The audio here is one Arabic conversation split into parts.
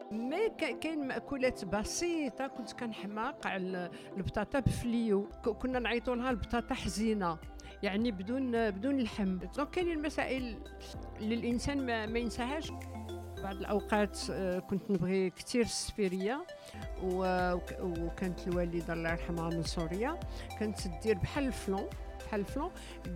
مي كاين مأكولات بسيطة كنت كنحماق على البطاطا بفليو، كنا نعيطوا لها البطاطا حزينة، يعني بدون اللحم. دونك كاينين المسائل اللي الإنسان ما ينساهاش. بعض الأوقات كنت نبغي كتير السفيرية، وكانت الوالدة الله يرحمها من سوريا، كانت دير بحال الفلون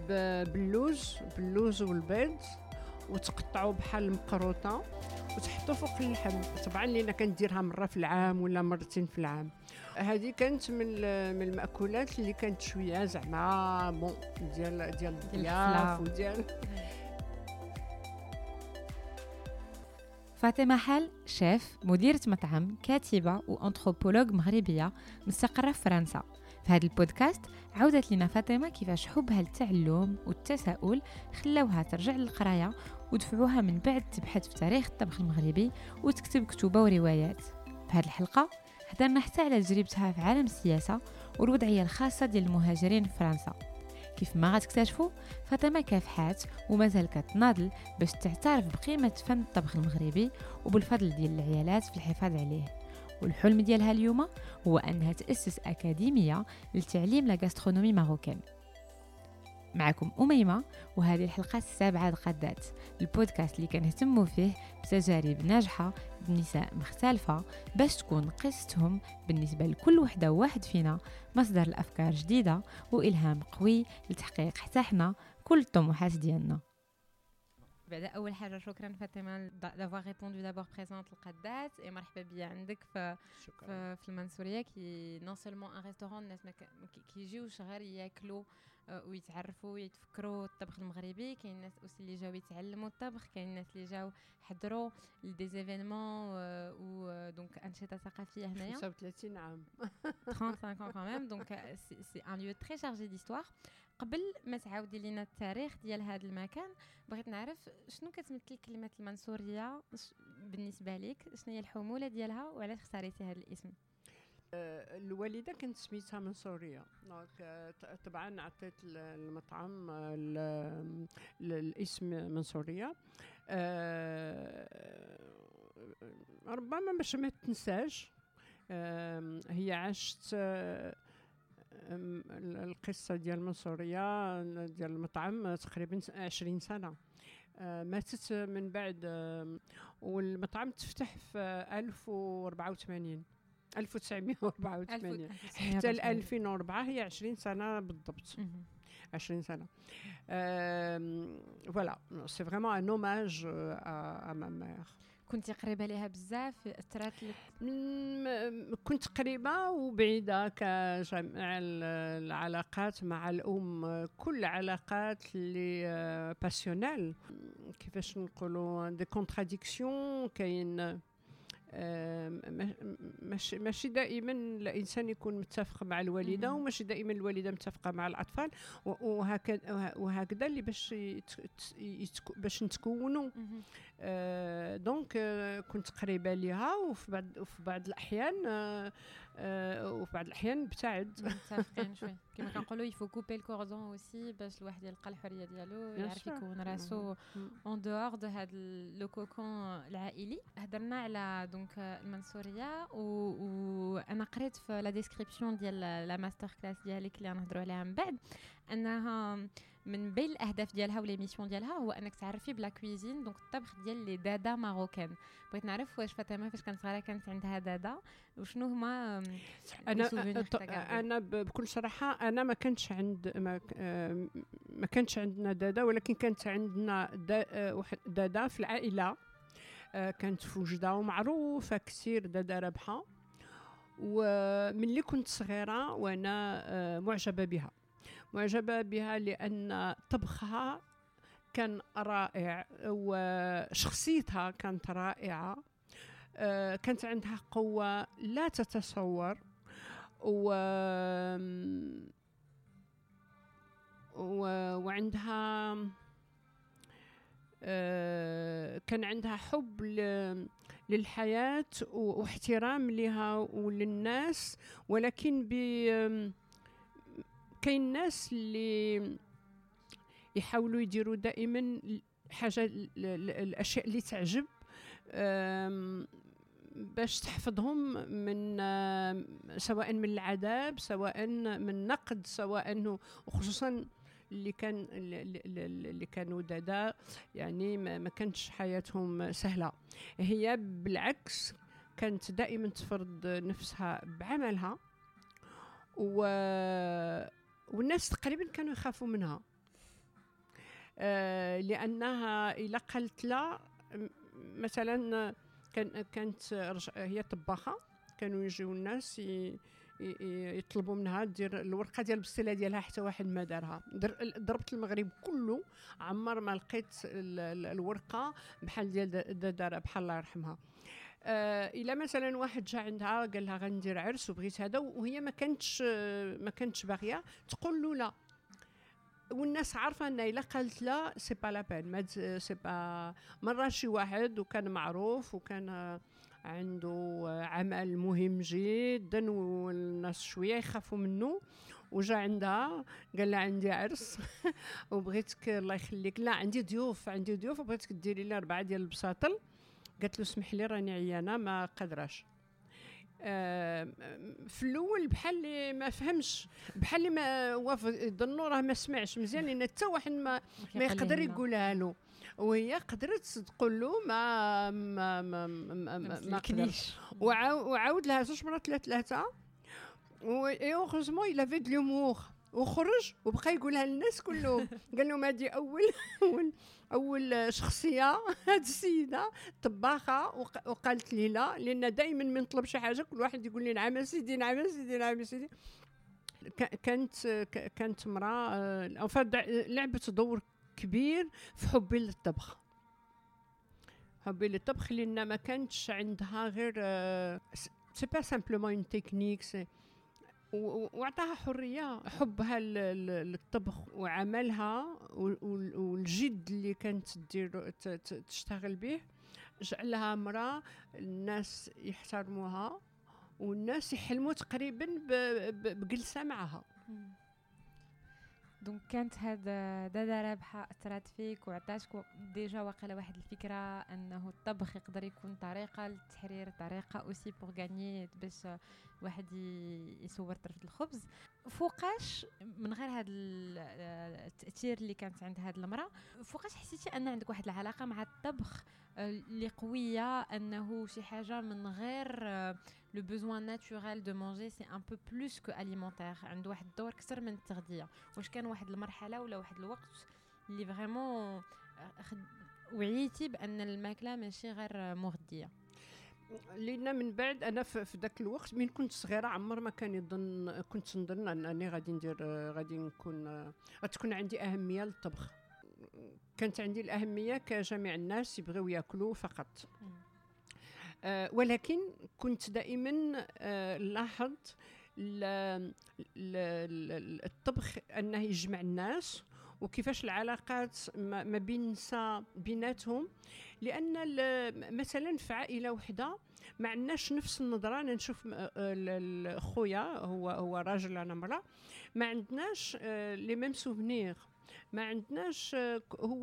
باللوز والبيض، وتقطعوا بحال المقروطه وتحطوا فوق اللحم. طبعا لينا كنديرها مره في العام ولا مرتين في العام. هذه كانت من المأكولات اللي كانت شويه زعما بون ديال الضياف وديال. فاطمة حل شيف، مديرة مطعم، كاتبة وأنثروبولوج مغربية مستقرة في فرنسا. في هذا البودكاست عودت لنا فاطمة كيفاش حبها للتعلم والتساؤل خلاوها ترجع للقراية ودفعوها من بعد تبحث في تاريخ الطبخ المغربي وتكتب كتوبة وروايات. في هذه الحلقة هضرنا حتى على تجربتها في عالم السياسة والوضعية الخاصة ديال المهاجرين في فرنسا. كيف ما غتكتشفوا فاطمة كافحات ومازال كتناضل باش تعترف بقيمة فن الطبخ المغربي وبالفضل ديال العيالات في الحفاظ عليه. والحلم ديالها اليوم هو أنها تأسس أكاديمية للتعليم لا غاسترونومي ماروكان. معكم أميمة، وهذه الحلقة السابعة لقدات البودكاست اللي كنهتموا فيه بتجارب ناجحة بنساء مختلفة باش تكون قصتهم بالنسبة لكل وحدة وواحد فينا مصدر الأفكار جديدة وإلهام قوي لتحقيق حتى حنا كل الطموحات ديالنا. بعد أول حاجة شكرا فاطمة d'avoir répondu d'abord présente القدات et مرحبا بيا عندك في المنصورية كي نون سولمون ان ريستورون الناس كيجيوش غير ياكلوا ويتعرفوا ويتفكروا الطبخ المغربي. كاين الناس اوسي اللي جاوا يتعلموا الطبخ، كاين الناس اللي جاوا حضروا لدي زيفينمون و دونك انشطه ثقافيه هنايا. 35 عام 35 ans quand même, donc c'est un lieu très chargé d'histoire. قبل ما تعاودي لينا التاريخ ديال هذا المكان بغيت نعرف شنو كتمثل كلمه المنصوريه بالنسبه لك، شنو هي الحموله ديالها وعلاش اختاريتي هذا الاسم؟ الوالده كانت سميتها منصوريه، دونك طبعا عطيت المطعم الاسم منصوريه. ربما باش ما تنساش. هي عاشت القصه ديال المنصوريه ديال المطعم تقريبا 20 سنه. ماتت من بعد، والمطعم تفتح في 1984 حتى 2004، هي 20 سنة بالضبط. 20 سنة. فوالا سي فريمون ان اوماج ا ما مير. كنتي قريبه ليها بزاف؟ اثرت لك؟ كنت قريبه وبعيده كجميع العلاقات مع الام، كل علاقات اللي باسيونيل، كيفاش نقولوا دي كونتراديكسيون. كاين ماشي دائما الانسان يكون متفق مع الوالده، وماشي دائما الوالده متفقه مع الاطفال، وهكذا اللي باش نتكونوا. دونك كنت قريبه ليها، وفي بعض الاحيان ابتعد. متفقين شوي كما كنقولوا يفو كوبي الكوردون اوسي باش الواحد يلقى الحريه ديالو يعرف يكون راسو اون دور دو هذا لو كوكون العائلي. هضرنا على دونك المنصوريه، وانا قريت في لا ديسكريبسيون ديال لا ماستر كلاس ديالك اللي غنهضروا عليها من بعد انها من بين الاهداف ديالها وليميسيون ديالها هو انك تعرفي بلا كويزين، دونك الطبخ ديال لي دادا ماروكان. بغيت نعرف واش فاطمه فاش كانت صغيره كانت عندها دادا، وشنو هما انا بكل صراحه انا ما كانش عندنا دادا، ولكن كانت عندنا دادا في العائله، كانت في وجده ومعروفه كثير، دادا رابحه. ومن اللي كنت صغيره وانا معجبه بها لان طبخها كان رائع وشخصيتها كانت رائعه. كانت عندها قوه لا تتصور، وعندها كان عندها حب للحياة واحترام لها وللناس. ولكن كاين ناس اللي يحاولوا يديروا دائما حاجة الأشياء اللي تعجب باش تحفظهم من سواء من العذاب، سواء من نقد، سواء وخصوصا اللي كانوا دادا، يعني ما كانتش حياتهم سهلة. هي بالعكس كانت دائما تفرض نفسها بعملها، والناس تقريبا كانوا يخافوا منها، لأنها إلا قالت لا مثلا كانت هي طباخة، كانوا يجيو الناس يطلبوا منها دير الورقه ديال البستيله ديالها حتى واحد ما دارها. ضربت المغرب كله، عمر ما لقيت الورقه بحال ديال دارها بحال الله يرحمها. الا مثلا واحد جا عندها قال لها غندير عرس وبغيت هذا، وهي ما كانتش باغيه، تقول له لا، والناس عارفه ان الا قالت لا سي با لا بين، ما سي با. مره شي واحد وكان معروف وكان عنده عمل مهم جدا والناس شويه يخافوا منه، وجا عندها قال لها عندي عرس وبغيتك الله يخليك، لا عندي ضيوف وبغيتك ديري لي 4 ديال البساطل. قالت له اسمح لي راني عيانه ما قادراش. في الاول بحال اللي ما فهمش، بحال اللي ما يظنوا راه ما سمعش مزيان، لان حتى واحد ما يقدر يقولها له، وهي قدرت تقول له ما قدرش. وعاود لها 2 مرات 3 اي اوغوزمون الا في دو لومور، وخرج وبقى يقولها للناس كلهم. قال لهم هذه اول شخصيه، هذه السيده طباخه وقالت لي لا، لان دائما من نطلب شي حاجه كل واحد يقول لي نعم سيدي نعم سيدي نعم سيدي. كانت امراه لعبت دور كبير في حبي للطبخ، لان ما كانتش عندها غير سي با سامبلومون اون تكنيك، وعطاها حريه. حبها للطبخ وعملها والجد اللي كانت تشتغل به جعلها امراه الناس يحترموها والناس يحلموا تقريبا بجلسه معها. دونك كانت هذا دادا رابحه اثرت فيك وعطاتك ديجا واقيلا واحد الفكره انه الطبخ يقدر يكون طريقه للتحرير، طريقه اوسي بور غاني باش واحد يصور طرف الخبز. فوقاش من غير هذا التاثير اللي كانت عند هذه المراه، فوقاش حسيتي ان عندك واحد العلاقه مع الطبخ اللي قويه، انه شي حاجه من غير لو بوزوان ناتورال دو مانجي، سي ان بو بلوس كو اليمونتير، عنده واحد الدور اكثر من التغذيه؟ واش كان واحد المرحله ولا واحد الوقت اللي فريمون وعيتي بان الماكله ماشي غير مغذيه؟ لأن من بعد أنا في ذاك الوقت من كنت صغيرة عمر ما كان كنت نظن أنني غادي تكون عندي أهمية للطبخ. كانت عندي الأهمية كجميع الناس يبغيو يأكلوا فقط. ولكن كنت دائما لاحظ الطبخ أنه يجمع الناس، وكيفاش العلاقات ما بين النساء بيناتهم. لان مثلا في عائله وحده ما عندناش نفس النظره. انا نشوف خويا هو راجل انا امراه، ما عندناش لي ميم سوفنير، ما عندناش هو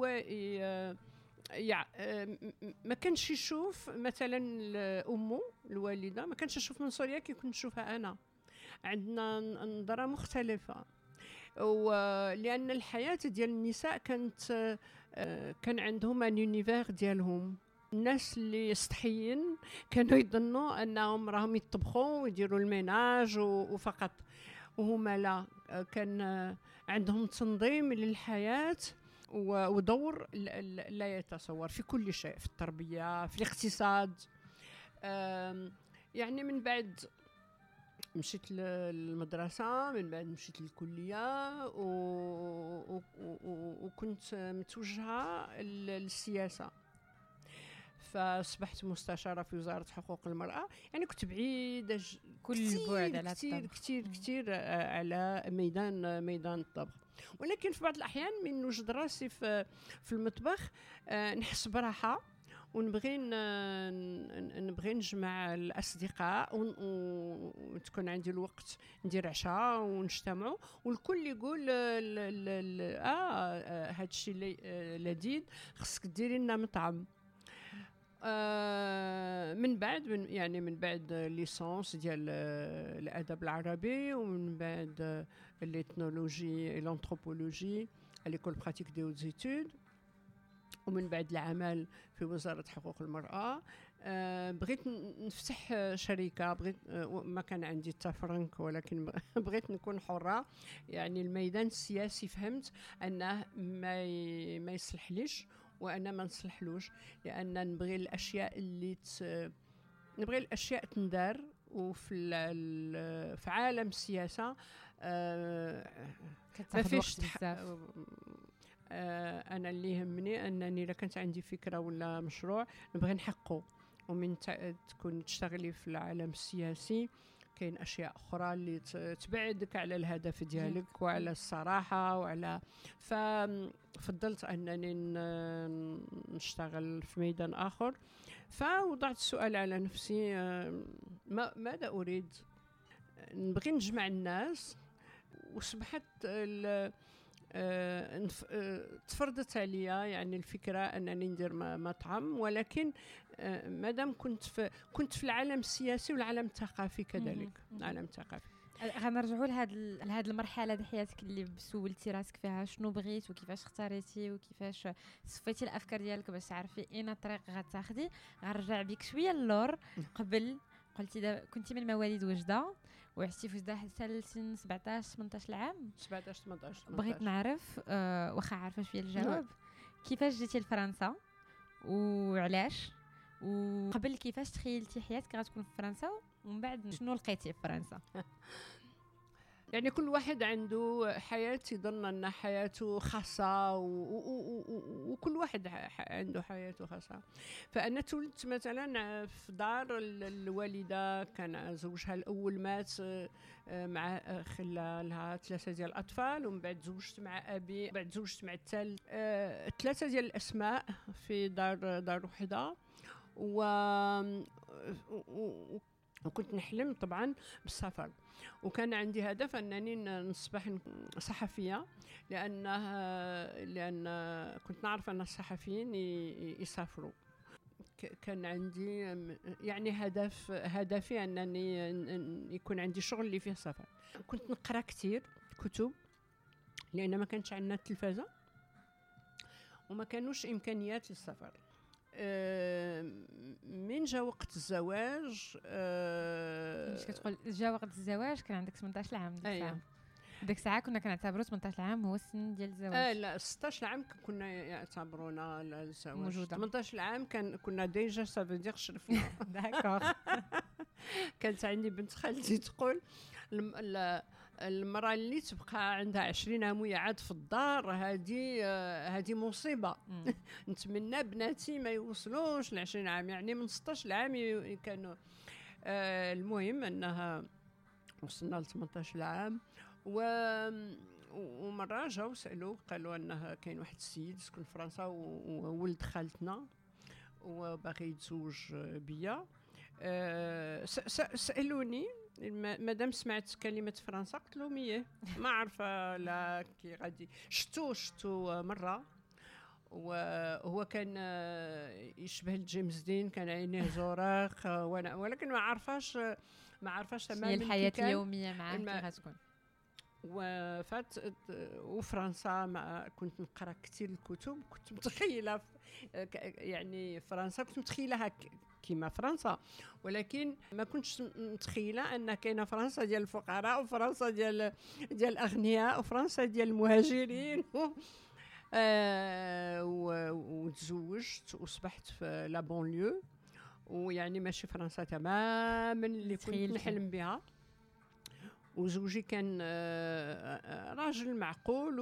ما كانش يشوف مثلا امه الوالده ما كانش يشوف من سوريا كي كنت نشوفها انا. عندنا نظره مختلفه، ولأن الحياة ديال النساء كان عندهم ان يونيفير ديالهم. الناس اللي سطحيين كانوا يظنوا انهم راهم يطبخوا ويديروا الميناج وفقط، وهما لا، كان عندهم تنظيم للحياة ودور لا يتصور في كل شيء، في التربية، في الاقتصاد. يعني من بعد مشيت للمدرسة، من بعد مشيت للكلية وكنت متوجهة للسياسة، فاصبحت مستشارة في وزارة حقوق المرأة. يعني كنت بعيدة كل بعد على كتير على ميدان الطبخ. ولكن في بعض الأحيان من نوجد راسي في المطبخ نحس براحة، ونبغي نجمع الأصدقاء وتكون عندي الوقت ندير عشاء ونجتمعوا والكل يقول هاد الشيء لذيذ، خصك ديري لنا مطعم. من بعد من بعد ليسونس ديال الادب العربي، ومن بعد الإثنولوجي الانثروبولوجي ليكول براتيك دي هوت زيتود، ومن بعد العمل في وزارة حقوق المرأة. بغيت نفتح شركة، بغيت ما كان عندي حتى فرنك، ولكن بغيت نكون حرة. يعني الميدان السياسي فهمت أنه ما يصلحليش وأنا ما نصلحلوش، لأن نبغي الأشياء نبغي الأشياء تندار. وفي في عالم السياسة ما فيش انا اللي يهمني انني الا كانت عندي فكره ولا مشروع نبغي نحققه. ومن تكون تشتغلي في العالم السياسي كاين اشياء اخرى اللي تبعدك على الهدف ديالك وعلى الصراحه وعلى. ففضلت انني نشتغل في ميدان اخر. فوضعت السؤال على نفسي، ماذا اريد؟ نبغي نجمع الناس. وصبحت تفرضت عليا يعني الفكره انني ندير مطعم، ولكن مادام كنت في العالم السياسي والعالم الثقافي كذلك. العالم الثقافي غنرجعوا لهاد المرحله ديال حياتك اللي سولتي راسك فيها شنو بغيت وكيفاش اختاريتي وكيفاش صفيتي الافكار ديالك باش تعرفي اين الطريق غتاخدي. غنرجع بك شويه اللور. قبل قلتي كنتي من مواليد وجده وعشتي في وجده حتى لسن 17 18 عام. 17 18. بغيت نعرف واخا عارفه شويه الجواب، كيفاش جيتي لفرنسا وعلاش؟ وقبل كيفاش تخيلتي حياتك غتكون في فرنسا، ومن بعد شنو لقيتي في فرنسا؟ يعني كل واحد عنده حياة يظن أن حياته خاصة، وكل واحد عنده حياته خاصة. فأنا تولدت مثلا في دار الوالدة، كان زوجها الأول مات مع خلى لها 3 ديال الأطفال، ومن بعد زوجت مع أبي، بعد زوجت مع الثالث. 3 ديال الأسماء في دار وحدة. وكنت نحلم طبعا بالسفر، وكان عندي هدف أنني نصبح صحفية، لأن كنت نعرف أن الصحفيين يسافروا. كان عندي يعني هدفي أنني يكون عندي شغل اللي فيه سفر. كنت نقرأ كتير كتب، لأن ما كانش عندنا التلفازة وما كانوش إمكانيات للسفر. من جا وقت الزواج مش كتقول جا وقت الزواج كان عندك 18 عام ديك الساعه كنا كنعتبروا 18 عام هو السن ديال الزواج. لا 16 عام كنا يعتبرونا الزواج موجودة. 18 عام كنا ديجا سافو شرفنا. داكوغ. كانت عندي بنت خالتي تقول المرأة اللي تبقى عندها 20 عام وهي عاد في الدار هذه مصيبة. نتمنى بناتي ما يوصلوش ل 20 عام، يعني من 16 عام كانوا. المهم أنها وصلنا ل 18 عام. ومرة جاو سألوا قالوا أنها كاين واحد السيد سكن في فرنسا وولد خالتنا وباغي يتزوج بيا. سألوني مادام سمعت كلمة فرنسا قلت لهم ايه ما عارفة لا كي غادي. شتو مرة، وهو كان يشبه جيمس دين، كان عينيه زرق، ولكن ما عارفاش تماما الحياة اليومية معاه كيف غتكون. وفرنسا كنت نقرا كثير الكتب، كنت متخيله يعني فرنسا كنت متخيلها كيما فرنسا، ولكن ما كنتش متخيله ان كاينه فرنسا ديال الفقراء وفرنسا ديال الاغنياء وفرنسا ديال المهاجرين. وتزوجت وصبحت في لا بونليو، ويعني ماشي فرنسا تماما اللي كنت نحلم بها. وزوجي كان راجل معقول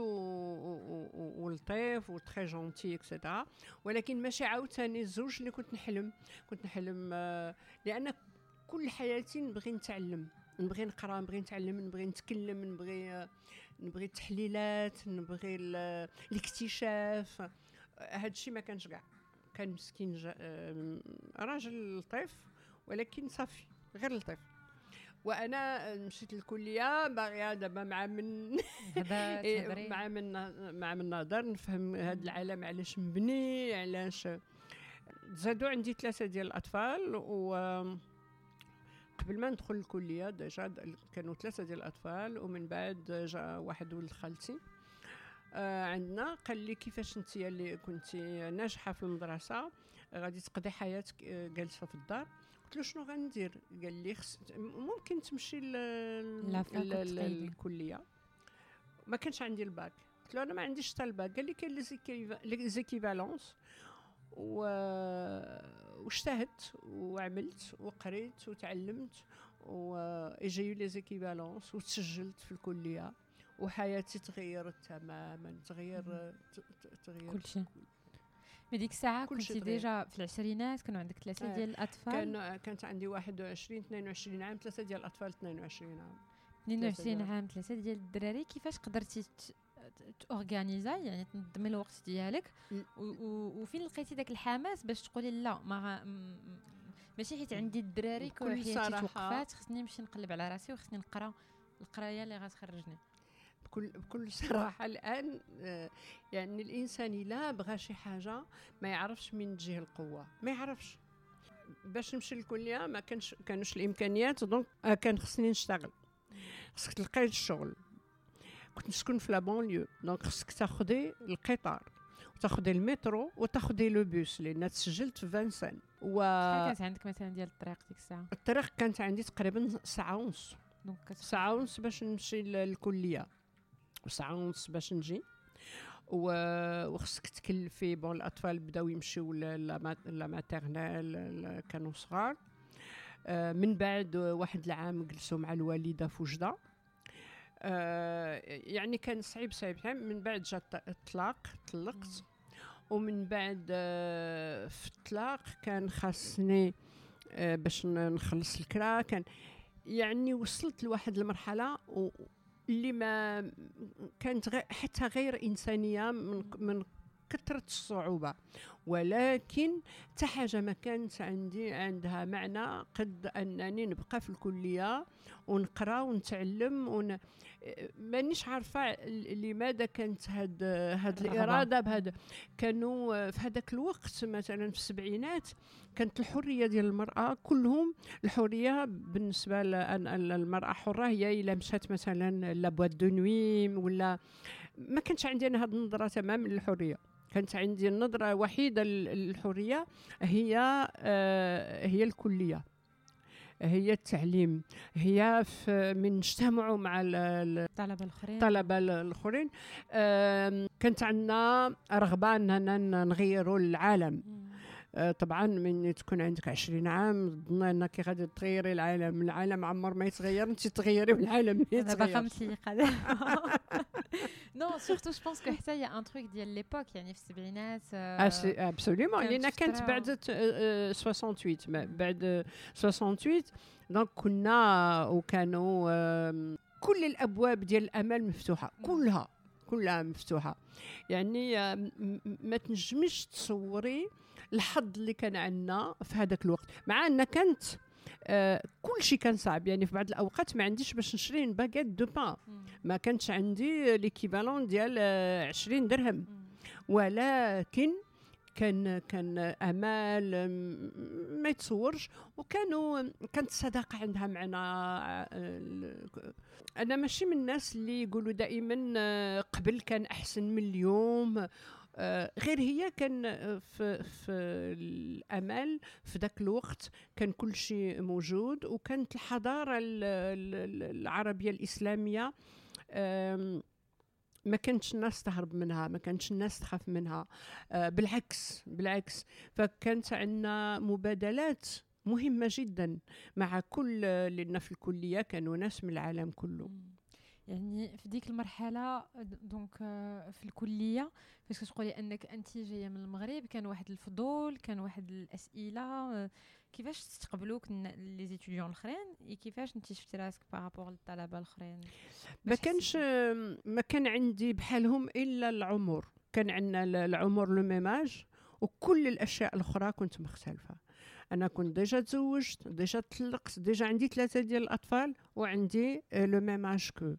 ولطيف وتري جونتي اكسيتيرا، ولكن ماشي عاوتاني الزوج اللي كنت نحلم لان كل حياتي نبغي نتعلم، نبغي نقرا، نبغي نتعلم، نبغي نتكلم، نبغي التحليلات، نبغي الاكتشاف. هذا الشيء ما كانش كاع. كان مسكين راجل لطيف ولكن صافي غير لطيف. وانا مشيت للكليه باغيه دابا مع من نهضر نفهم هذا العالم علاش مبني، علاش زادوا عندي 3 ديال الاطفال، و قبل ما ندخل الكليه ديجا كانوا 3 ديال الاطفال. ومن بعد جا واحد ولد خالتي عندنا، قال لي كيفاش انت اللي كنتي ناجحه في المدرسه غادي تقضي حياتك جالسه في الدار؟ قلت له شنو غندير؟ قال لي ممكن تمشي للكليه. ما كانش عندي الباك. قلت له انا ما عنديش حتى الباك. قال لي كاين لي زيكيفالونس، واجتهدت وعملت وقريت وتعلمت وجايو لي زيكيفالونس وتسجلت في الكليه، وحياتي تغيرت تماما. تغير كل شيء. من ديك الساعه كنتي ديجا في العشرينات، كانوا عندك 3 ديال الاطفال؟ كانت عندي 21 22 عام، 3 ديال الاطفال 22 عام. 22 عام 3 ديال الدراري. كيفاش قدرتي تورغانيزا يعني تنظمي الوقت ديالك وفين لقيتي داك الحماس باش تقولي لا ماشي حيت عندي الدراري كل حياتي توقفات، خصني نمشي نقلب على راسي وخصني نقرا القرايه اللي غتخرجني؟ بكل صراحه الان يعني الانسان الا بغى شي حاجه ما يعرفش من تجيه القوه، ما يعرفش. باش نمشي للكليه ما كانوش الامكانيات، دونك كان خصني نشتغل، خصك تلقاي الشغل. كنت نسكن في لابونليو، دونك خصك تاخدي القطار وتاخدي المترو وتاخدي لو بوس، لان تسجلت في فانسان. شحال كانت عندك مثلا ديال الطريق ديك الساعه؟ الطريق كانت عندي تقريبا ساعه ونص، دونك ساعه ونص باش نمشي للكليه وساعه ونص باش نجي. وخصك تكلفي بون. الاطفال بداو يمشيو لا ماتيرنال، كانوا صغار. من بعد واحد العام جلسوا مع الوالده في وجده. يعني كان صعيب. من بعد جا الطلاق، طلقت. ومن بعد في الطلاق كان خاصني باش نخلص الكرا. كان يعني وصلت لواحد المرحله اللي ما كانت حتى غير انسانيه من كثرة الصعوبة. ولكن حتى حاجة ما كانت عندها معنى قد أنني نبقى في الكلية ونقرأ ونتعلم مانيش عارفة لماذا كانت هاد الإرادة بهذا. كانوا في هذاك الوقت مثلا في السبعينات كانت الحرية ديال المرأة كلهم. الحرية بالنسبة للمرأة حرة هي إلا مشات مثلا لابوات دو نوي، ولا ما كانش عندي أنا هاد النظرة تماما للحرية. كانت عندي النظرة وحيدة للحرية هي الكلية، هي التعليم، هي من نجتمعوا مع الطلبة الآخرين. كانت عندنا رغبة أننا نغيروا العالم. طبعا من تكون عندك 20 عام ظن انك غادي تغيري العالم عمر ما يتغير، انت تغيري والعالم ما يتغير. انا باقا متليقه نو سورتو جو بونس كو حتى يا ان تروك ديال ليبوك يعني في السبعينات ابسوليومون لان كانت بعد 68 بعد 68 دونك كنا وكانوا كل الابواب ديال الامل مفتوحه، كلها مفتوحه. يعني ما تنجمش تصوري الحظ اللي كان عندنا في هذاك الوقت، مع ان كانت كل شيء كان صعب. يعني في بعض الاوقات ما عنديش باش نشري باكيت دو بان، ما كانش عندي ليكيفالون ديال 20 درهم. ولكن كان امال ما يتصورش. كانت الصداقه عندها معنى. انا ماشي من الناس اللي يقولوا دائما قبل كان احسن من اليوم. غير هي كان في الامل في ذاك الوقت كان كل شيء موجود، وكانت الحضاره العربيه الاسلاميه ما كانتش الناس تهرب منها، ما كانتش الناس تخاف منها. بالعكس فكانت عندنا مبادلات مهمه جدا مع كل لنا في الكليه كانوا ناس من العالم كله. يعني في ديك المرحله دونك في الكليه فاش كتقولي انك انت جايه من المغرب، كان واحد الفضول، كان واحد الاسئله، كيفاش تستقبلوك لي زيتيديون الاخرين؟ كيفاش انت شفتي راسك بارابور للطلبه الاخرين؟ ما كان عندي بحالهم الا العمر. كان عندنا العمر لو ميماج، وكل الاشياء الاخرى كنت مختلفه. انا كنت ديجا تزوجت، ديجا طلقت، ديجا عندي 3 ديال الاطفال، وعندي لو ميماج كو.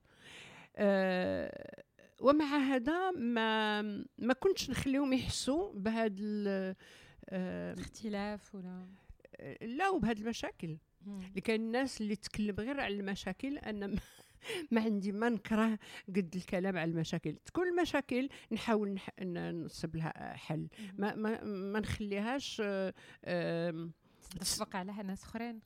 ومع هذا ما كنتش نخليهم يحسوا بهذا اختلاف ولا لا وبهاد المشاكل اللي كاين الناس اللي تتكلم غير على المشاكل. انا ما عندي ما نكره قد الكلام على المشاكل. تكون المشاكل نحاول نصب لها حل، ما نخليهاش تطبق على ناس اخرين.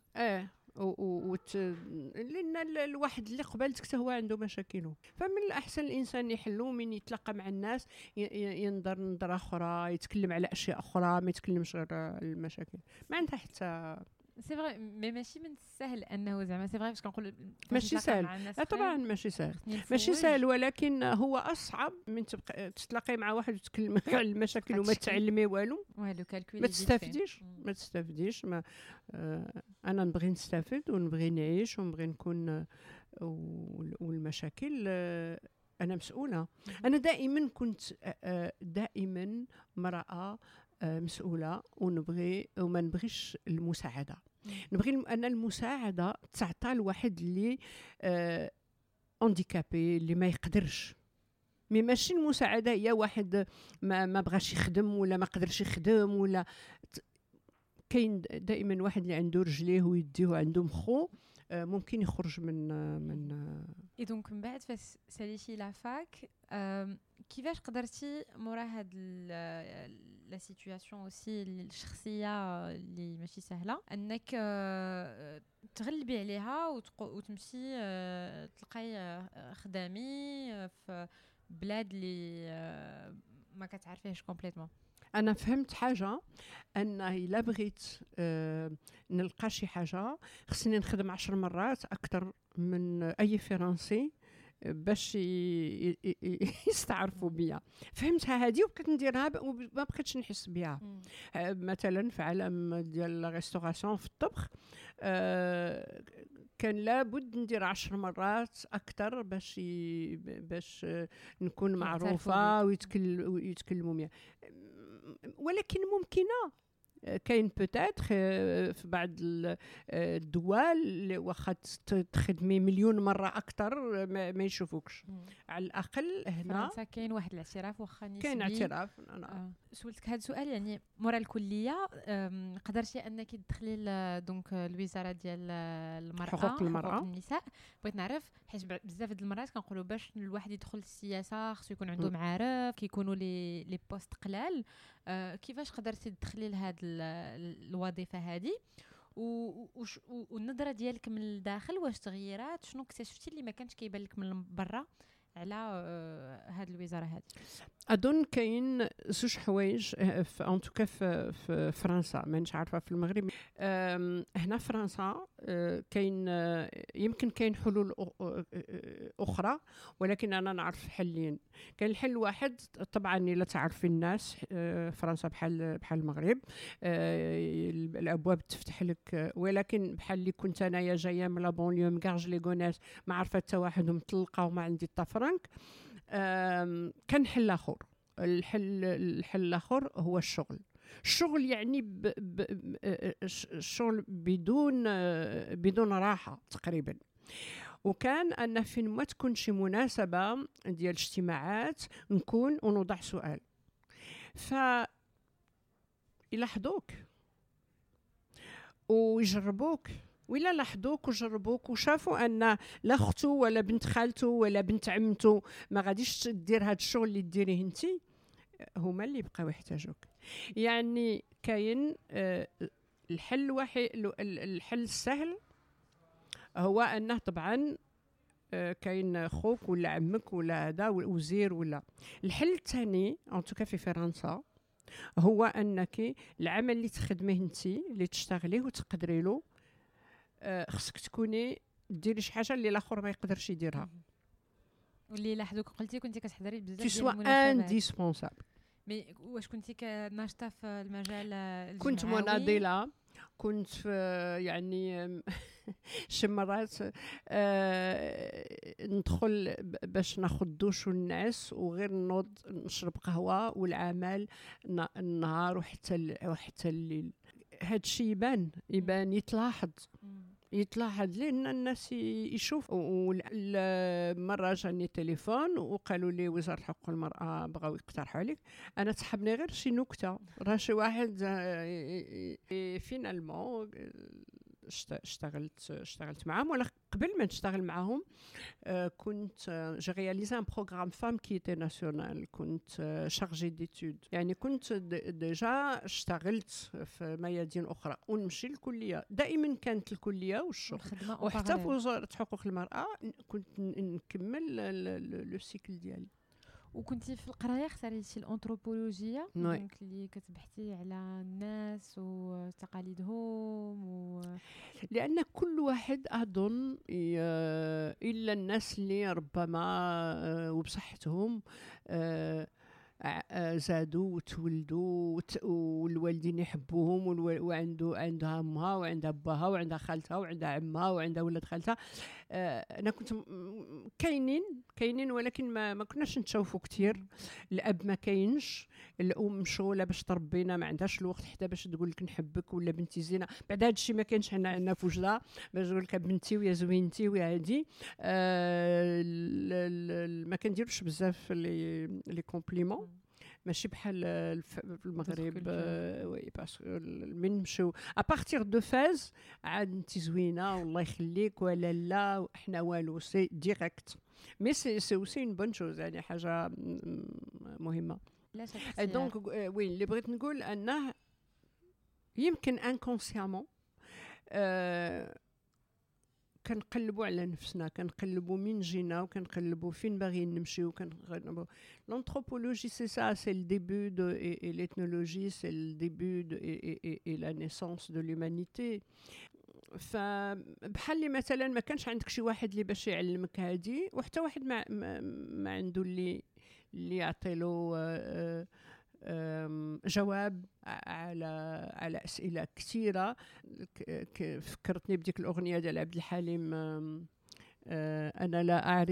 لان الواحد اللي قبلتك حتى هو عنده مشاكله، فمن الاحسن الانسان يحلو من يتلاقى مع الناس، ينظر نظره اخرى، يتكلم على اشياء اخرى، ما يتكلمش غير المشاكل. ما عندها حتى سي فري. مي ماشي من السهل انه زعما سي فري باش كنقول ماشي سهل. لا طبعا ماشي سهل، ماشي سهل، ولكن هو اصعب من تبقى تتلاقي مع واحد وتتكلم على المشاكل وما تعلمي والو كالكولي ما تستافديش. انا نبغي نستافد ونبغي نعيش ونبغي نكون، والمشاكل انا مسؤوله. انا دائما كنت دائما امراه مسؤوله، ونبغي وما نبغيش المساعده. نبغي انا المساعده تعطى لواحد اللي هانديكابي، اللي ما يقدرش. مي ماشي المساعده هي واحد ما بغاش يخدم ولا ما قدرش يخدم، ولا كاين دائما واحد اللي عنده رجليه ويديه وعنده مخو ممكن يخرج من اي دونك من بعد فاش ساليتي لا فاك كيفاش قدرتي مورا هاد لا سيتوياسيون اوسي الشخصيه اللي ماشي سهله انك تغلبي عليها وتمشي تلقاي خدامي في بلاد اللي ما كتعرفيهش كومبليتوم؟ انا فهمت حاجه، ان الا بغيت نلقى شي حاجه خصني نخدم 10 مرات اكثر من اي فرنسي باش يستعرفوا بيا. فهمتها هذه وبقيت نديرها وما بقيتش نحس بها. مثلا في عالم ديال الريستوراسيون في الطبخ كان لابد ندير 10 مرات اكثر باش نكون معروفه ويتكلموا بيا. ولكن ممكنه، كاين بوتيتر في بعض الدول اللي واخا تخدمي مليون مره اكثر ما يشوفوكش. على الاقل هنا فرنسا كاين واحد الاعتراف واخا نسبي. كاين اعتراف. سولتك هذا السؤال يعني مورا الكليه قدرتي انك تدخلي دونك الوزاره ديال المراه حقوق النساء. بغيت نعرف حيت بزاف د المرات كنقولوا باش الواحد يدخل السياسه خصو يكون عنده معارف، كيكونوا لي بوست قلال. كيفاش قدرتي تدخلي لهاد الوظيفه هذه والنظره ديالك من الداخل واش تغيرات؟ شنو اكتشفتي اللي ما كانش كيبان لك من برا على هاد الوزاره هذه؟ اظن كاين زوج حوايج ان توكا في فرنسا، مانيش عارفه في المغرب. هنا في فرنسا كاين يمكن كاين حلول اخرى، ولكن انا نعرف حلين. كاين الحل واحد طبعا الا تعرفي الناس، فرنسا بحال المغرب، الابواب تفتح لك. ولكن بحال اللي كنت انايا جايه من لا بونليو مكارج لي غوناس، ما عرفت حتى واحد ومطلقه وما عندي حتى فرنك. كان حل اخر. الحل الاخر هو الشغل يعني الشغل بدون راحه تقريبا. وكان ان فين ما تكون شي مناسبه ديال اجتماعات نكون ونوضع سؤال، يلاحظوك ويجربوك، ولا لاحظوك وجربوك وشافوا ان لا اختو ولا بنت خالته ولا بنت عمته ما غاديش دير هذا الشغل اللي ديريه انتي، هما اللي بقاو يحتاجوك. يعني كاين الحل الحل السهل هو انه طبعا كاين خوك ولا عمك ولا هذا وزير ولا. الحل الثاني ان توكا في فرنسا هو انك العمل اللي تخدميه انتي اللي تشتغليه وتقدري له خصك تكوني ديري شي حاجه اللي الاخر ما يقدرش يديرها. واللي لاحظوك قلتي كنتي كتحضري بزاف ديال المناسبات. انديسبونسابل. مي واش كنتي ناشطه في المجال الجمعوي؟ كنت مناضله، كنت في يعني شي مرات ندخل باش ناخذ دوش الناس وغير نوض نشرب قهوه والعمل النهار وحتى الليل. هاد الشيء يبان يتلاحظ. يتلاحظ لان الناس يشوف. مرة جاني تليفون وقالوا لي وزارة حقوق المرأة بغاو يقترحوا عليك. انا تسحبني غير شي نكتة، راه شي واحد فينالمون اشتغلت معهم. ولا قبل ما نشتغل معهم كنت j'ai réalisé un programme femme qui était national. كنت chargée d'études، يعني كنت ديجا اشتغلت في ميادين أخرى ونمشي الكلية. دائما كانت الكلية والشغل، وحتى في وزارة حقوق المرأة كنت نكمل لو سيكل ديالي. وكنتي في القرايه اختاريتي الانثروبولوجيا دونك اللي كتبحثي على الناس وتقاليدهم لان كل واحد اظن الا الناس اللي ربما وبصحتهم زادوا وتولدوا والوالدين يحبوهم وعندها امها وعندها باها وعندها خالتها وعندها عمها وعندها ولاد خالتها. انا كنت كاينين ولكن ما كناش نتشوفوا كثير. الاب ما كاينش، الام مشغوله باش تربينا، ما عندهاش الوقت حتى باش تقول لك نحبك ولا بنتي زينه. بعد هذا الشيء ما كاينش عندنا في وجدها باش تقول لك بنتي ويا زوينتي ويا هادي. ما كنديروش بزاف لي كومبليمون، ماشي بحال في المغرب. وي باسكو من نمشيو ابارتير دو فاز عاد انت زوينه والله يخليك ولا لا احنا والو، سي ديريكت. مي سي اوسي اون بون شوز، يعني حاجه مهمه. دونك وي اللي بغيت نقول انه يمكن انكونسيامون كنقلبوا على نفسنا، كنقلبوا من جينا وكنقلبوا فين باغيين نمشيو. l'anthropologie c'est ça, c'est le début et l'ethnologie c'est le début et la naissance de l'humanité. فبحال لي مثلا ما كانش عندك شي واحد اللي باش يعلمك هادي، وحتى واحد ما عنده اللي يعطيلو جواب على أسئلة كثيرة. فكرتني بديك الأغنية ديال عبد الحليم، أنا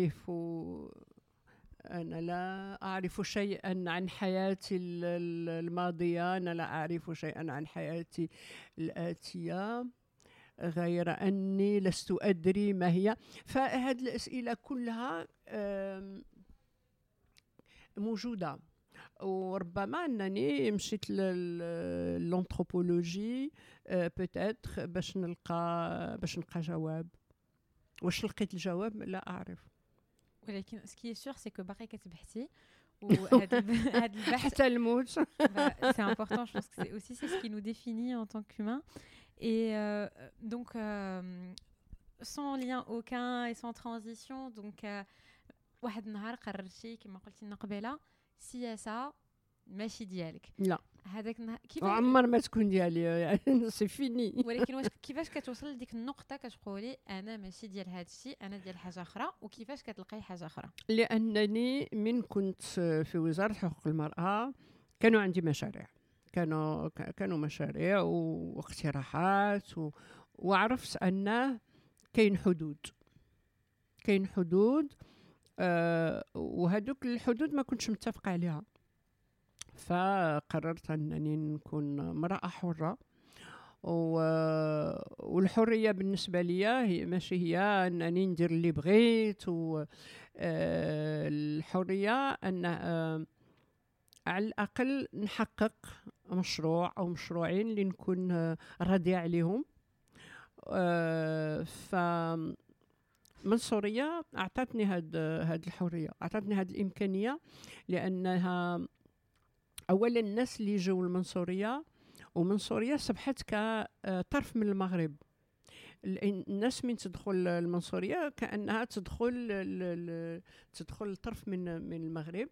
لا أعرف شيئا عن حياتي الماضية، أنا لا أعرف شيئا عن حياتي الآتية غير أني لست أدري ما هي. فهذه الأسئلة كلها موجودة. وربما انني مشيت للانثروبولوجي بوتيتر باش نلقى جواب. واش لقيت الجواب لا اعرف، ولكن سكي سور سي كو باقي كتبحثي وهذا البحث حتى الموت. سي امبورطون. جو بونس كو سي اوسي سي سكي نو ديفيني ان طون كومان. Et donc sans lien aucun et sans transition, donc واحد النهار قررتي كما قلتي لنا قبيله سياسه ماشي ديالك. لا هذاك كيف عمر ما تكون ديالي، يعني سي فيني. ولكن واش كيفاش كتوصل لديك النقطه كتقولي انا ماشي ديال هذا الشيء، انا ديال حاجه اخرى، وكيفاش كتلقاي حاجه اخرى؟ لانني من كنت في وزاره حقوق المراه كانوا عندي مشاريع، كانوا مشاريع واقتراحات وعرفت ان كاين حدود وهذوك الحدود ما كنتش متفق عليها. فقررت انني نكون امراه حره، والحريه بالنسبه لي هي ماشي هي انني ندير اللي بغيت. الحريه ان على الاقل نحقق مشروع او مشروعين اللي نكون راضيه عليهم. منصورية أعطتني هاد الحرية، أعطتني هاد الإمكانية، لأنها أولا الناس اللي جاوا المنصورية، ومنصورية صبحت كطرف من المغرب. الناس من تدخل المنصورية كأنها تدخل طرف من المغرب.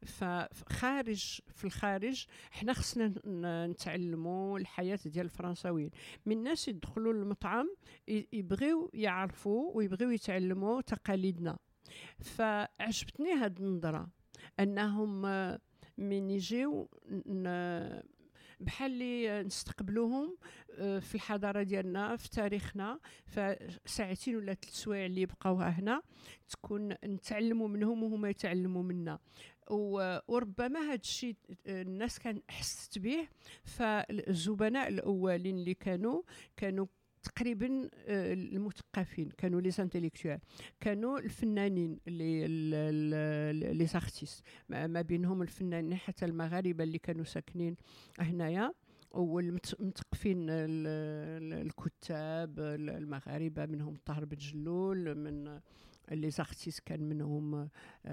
في الخارج حنا خصنا نتعلموا الحياة ديال الفرنساويين. من الناس يدخلوا المطعم يبغيو يعرفوا ويبغيو يتعلموا تقاليدنا. فعجبتني هاد النظرة انهم من يجيو بحال اللي نستقبلوهم في الحضاره ديالنا في تاريخنا. فساعتين ولا 3 سوايع اللي يبقاوها هنا تكون نتعلموا منهم وهما يتعلموا منا. وربما هذا الشيء الناس كان حست به. فالزبناء الاولين اللي كانوا تقريبا المثقفين، كانوا لي سانتيليكتوال، كانوا الفنانين لي زارتيست، ما بينهم الفنانين حتى المغاربه اللي كانوا ساكنين هنايا، والمثقفين الكتاب المغاربه، منهم طاهر بن جلول، من لي زارتيست كان منهم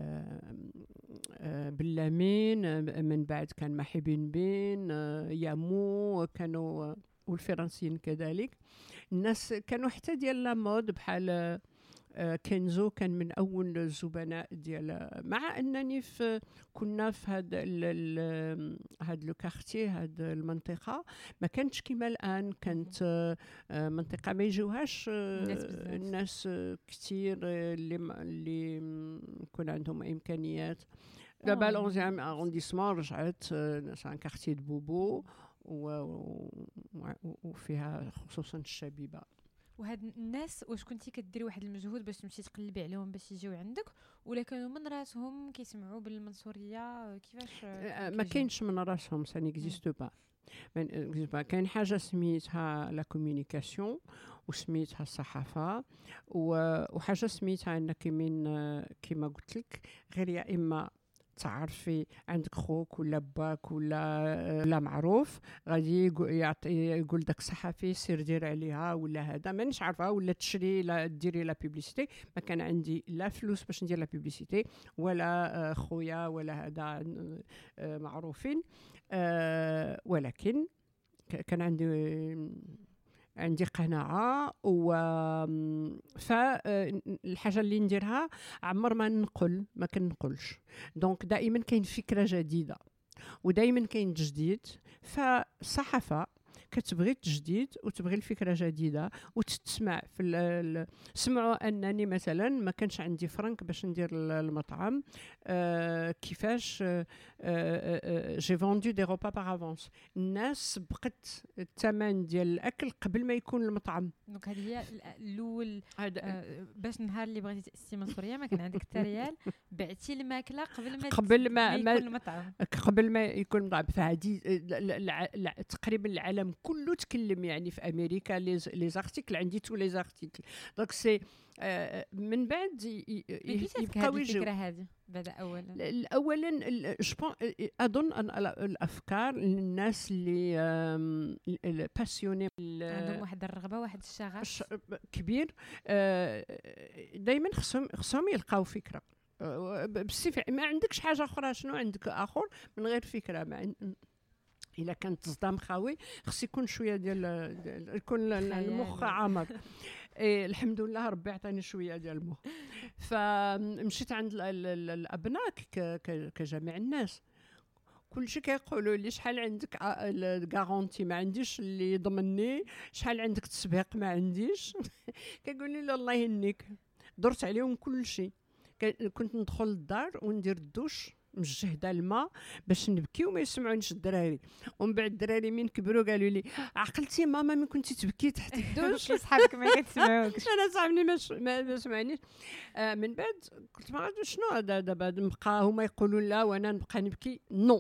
بلامين، من بعد كان محي بن بين، يامو، كانوا والفرنسيين كذلك. الناس كانوا حتى ديال لا مود بحال كينزو كان من اول الزبناء ديال، مع انني كنا في هاد لو كارتي، هاد المنطقه ما كانتش كما الان، كانت منطقه ما يجوهاش الناس كثير اللي يكون عندهم امكانيات. دابا ال11 ارونديسمون رجعت سان كارتي دو بوبو وفيها خصوصا الشبيبه. وهاد الناس واش كنتي كديري واحد المجهود باش تمشي تقلبي عليهم باش يجيو عندك، ولا كانوا من راسهم كيسمعوا بالمنصوريه؟ كيفاش ما كاينش من راسهم، سا نيكزيست با. كاين حاجه سميتها لا كومونيكاسيون وسميتها الصحافه، وحاجه سميتها انك من كما قلت لك غير يا اما تعرفي عندك خوك ولا باك ولا معروف غادي يقول داك الصحفي سير دير عليها، ولا هذا مانيش عارفه، ولا تشري لا ديري لا بوبليسيتي. ما كان عندي لا فلوس باش ندير لا بوبليسيتي، ولا خويا ولا هذا معروفين، ولكن كان عندي قناعة. فالحاجة اللي نديرها عمر ما كنقولش. دونك دائما كاين فكرة جديدة ودائما كاين تجديد. فالصحافة كتبغي التجديد وتبغي الفكرة جديدة وتتسمع في سمعوا أنني مثلا ما كانش عندي فرنك باش ندير المطعم، كيفاش جي فوندو دي روبا باغ افونس، الناس بقت الثمن ديال الأكل قبل ما يكون المطعم. دونك هذه هي الأول، باش نهار اللي بغيتي تأسسي منصورية ما كان عندك حتى ريال، بعتي الماكلة قبل ما يكون المطعم. قبل ما يكون المطعم. فهذه تقريبا العالم كله تكلم، يعني في امريكا لي زارتيكل عندي تو لي زارتيكل. دونك سي من بعد يبقاو يجيو. الفكره هذه بدا اولا اظن ان الافكار للناس اللي باسيوني عندهم واحد الرغبه، واحد الشغف كبير، دائما خصهم يلقاو فكره. ما عندكش حاجه اخرى، شنو عندك اخر من غير فكره؟ إلا كانت تصدام خاوي خص يكون شويه ديال يكون المخ عامر. الحمد لله ربي عطاني شويه ديال المخ. فمشيت عند الابناء كجميع الناس، كلشي كيقولوا لي شحال عندك الغارونتي؟ ما عنديش اللي يضمنني. شحال عندك تسبيق؟ ما عنديش. كيقول لي الله يهنيك. درت عليهم كلشي. كنت ندخل للدار وندير الدوش مجهده الماء باش نبكي وما يسمعونيش الدراري. ومن بعد الدراري من كبروا قالوا لي عقلتي ماما من كنتي تبكي تحت الدوش؟ صحابك ما كيسمعوكش. انا صاحبني ما سمعنيش. من بعد قلت ما عرفتش شنو هذا دابا، نبقى هما يقولوا لا وانا نبقى نبكي؟ نو.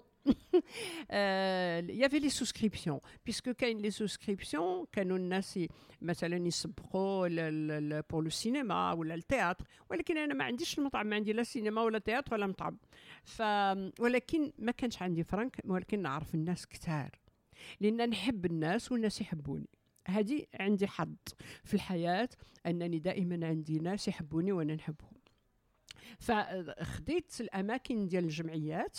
يافي لي سوسكريبسيون، بيسكو كاين لي سوسكريبسيون كانوا الناس مثلا يسبقوا بور لو سينما ولا التياتر، ولكن انا ما عنديش المطعم، ما عندي لا سينما ولا تياتر ولا مطعم. ولكن ما كانش عندي فرنك، ولكن نعرف الناس كثار لان نحب الناس والناس يحبوني. هذه عندي حظ في الحياه انني دائما عندي ناس يحبوني وانا نحبهم. فخديت الاماكن ديال الجمعيات،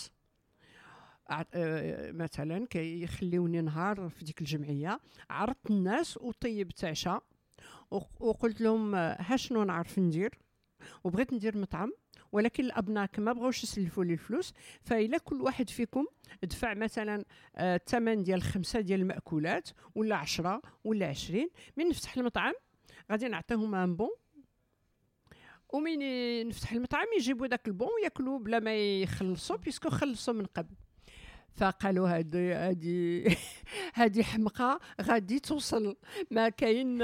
مثلا كيخليوني نهار في ديك الجمعيه، عرضت الناس وطيبت عشاء وقلت لهم ها شنو نعرف ندير، وبغيت ندير مطعم، ولكن الابناء ما بغاوش يسلفوا لي الفلوس. فإلا كل واحد فيكم دفع مثلا الثمن ديال 5 ديال المأكولات ولا 10 ولا 20، من نفتح المطعم غادي نعطيهم ان بون، ومن نفتح المطعم يجيبوا داك البون وياكلوا بلا ما يخلصوا، بيسكو خلصوا من قبل. فقالوا هذه حمقى غادي توصل، ما كاين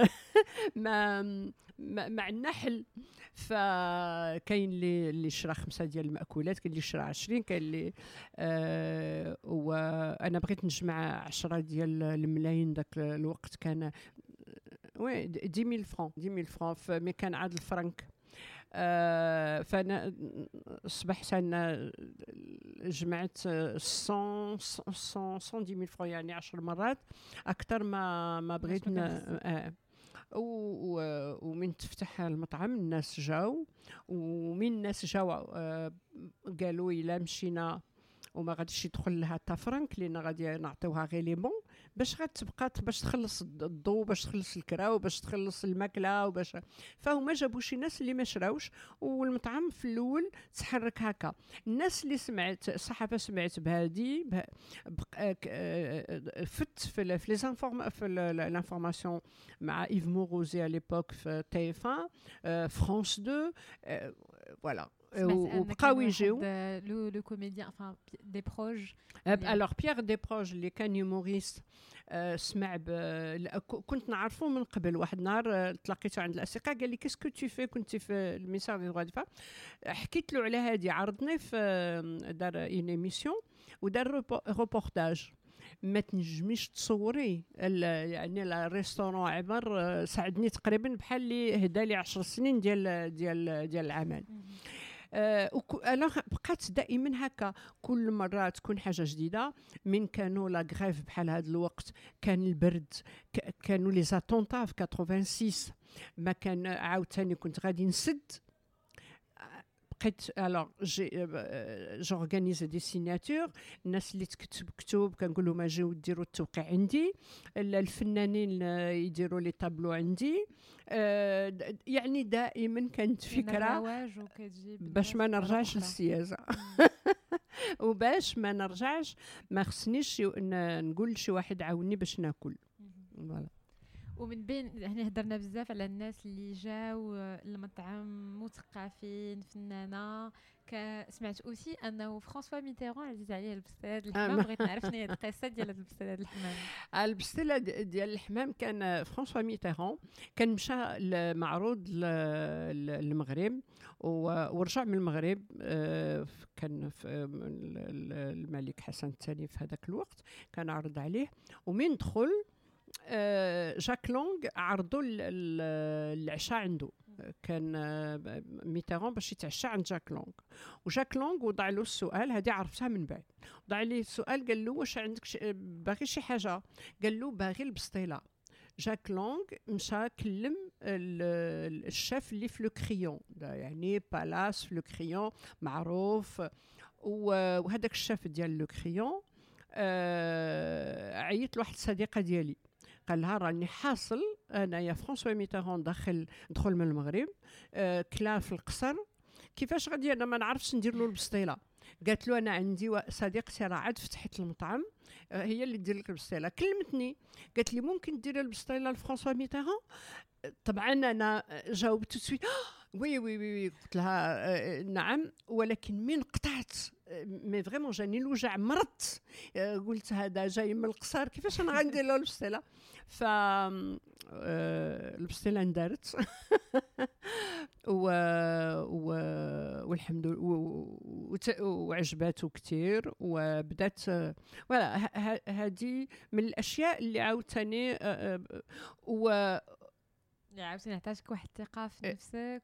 ما عندنا حل. فكاين اللي شرا 5 ديال المأكولات، كاين اللي شرا 20، كاين اللي وانا بغيت نجمع 10 ديال الملايين. داك الوقت كان وي 10000 فرانك 10000 فرانك مي كان عاد الفرنك. فانا صبحت انا جمعت 110,000 فرانك يعني 10 مرات اكثر ما بغيت. ومن تفتح المطعم الناس جاو، ومن الناس جاو قالوا الا مشينا وما غاديش يدخل لها حتى فرنك لان غادي نعطيوها غير لي بون باش غتبقى باش تخلص الضو، باش تخلص الكراو، باش تخلص الماكله، وباش فهما جابوا شي ناس اللي ما شراوش، والمطعم في الاول تحرك هكا. الناس اللي سمعت الصحافه سمعت بهادي فت في لي في لانفورماسيون مع ايف موروزي على ليبوك في تي اف 1 فرانس 2 فوالا. وبقاو يجيو لو كوميديان enfin دي بروج. الوغ بيير دي بروج اللي كان يوموريست سمع كنت نعرفه من قبل. واحد النهار تلاقيته عند الاسقه قال لي كيسكو تو في، كنت في الميسار دي دغوا دفا، حكيت له على هادي، عرضني في دار اون ايميسيون ودار روبورتاج. ما تنجميش تصوري يعني الريستورون عمر ساعدني تقريبا بحال اللي هدا لي 10 سنين ديال العمل. انا بقات دائما هكا، كل مره تكون حاجه جديده. من كانوا لا غريف بحال هذا الوقت، كان البرد، كانوا لي زاتونتا في 86 ما كان عاوتاني كنت غادي نسد. بقيت الوغ جورغانيز دي سيناتور، الناس اللي تكتب كتب كنقول لهم اجيو ديروا التوقيع عندي، الفنانين يديروا لي طابلو عندي. يعني دائما كانت فكره باش ما نرجعش للسياسه وباش ما نرجعش ما خصنيش نقول لشي واحد عاوني باش ناكل. فوالا. ومن بين هنا هضرنا بزاف على الناس اللي جاو المطعم، مثقفين، فنانه. سمعت اوسي انه فرانسوا ميتيران عزيز عليه البستلات الحمام. بغيت نعرف شنو هي القصه ديال البستلات الحمام. البستله ديال الحمام كان فرانسوا ميتيران كان مشى لمعروض المغرب ورجع من المغرب. كان الملك حسن الثاني في هذاك الوقت كان عرض عليه، ومن دخل جاك لونغ عرضوا العشاء عنده. كان ميتيران باش يتعشى عند جاك لونغ، وجاك لونغ وضع له السؤال، هذه عرفتها من بعد. وضع لي السؤال قال له واش عندك باغي شي حاجه؟ قال له باغي البسطيله. جاك لونغ مشى كلم الشيف اللي في لو كريون، يعني بالاس في لو كريون معروف، وهذاك الشيف ديال لو كريون عيط لواحد الصديقه ديالي، قال لها راني حاصل انا يا فرانسوا ميتيران دخل من المغرب، كلا في القصر، كيفاش غادي انا ما نعرفش ندير له البسطيله. قالت له انا عندي صديقتي راه عاد فتحت المطعم، هي اللي دير لك البسطيله. كلمتني قالت لي ممكن ديري البسطيله لفرانسوا ميتيران؟ طبعا انا جاوبت تسويت وي وي وي، قلت لها نعم، ولكن من قطعت مي فريمون جاني الوجع مرضت. قلت هذا جاي من القصر، كيفاش انا غندير له البسطيله؟ ف البسطيله اندارت والحمد لله وعجباته كثير، وبدات فوالا. هذه من الاشياء اللي عاوتاني عاوتاني عطاتك واحد الثقه في نفسك.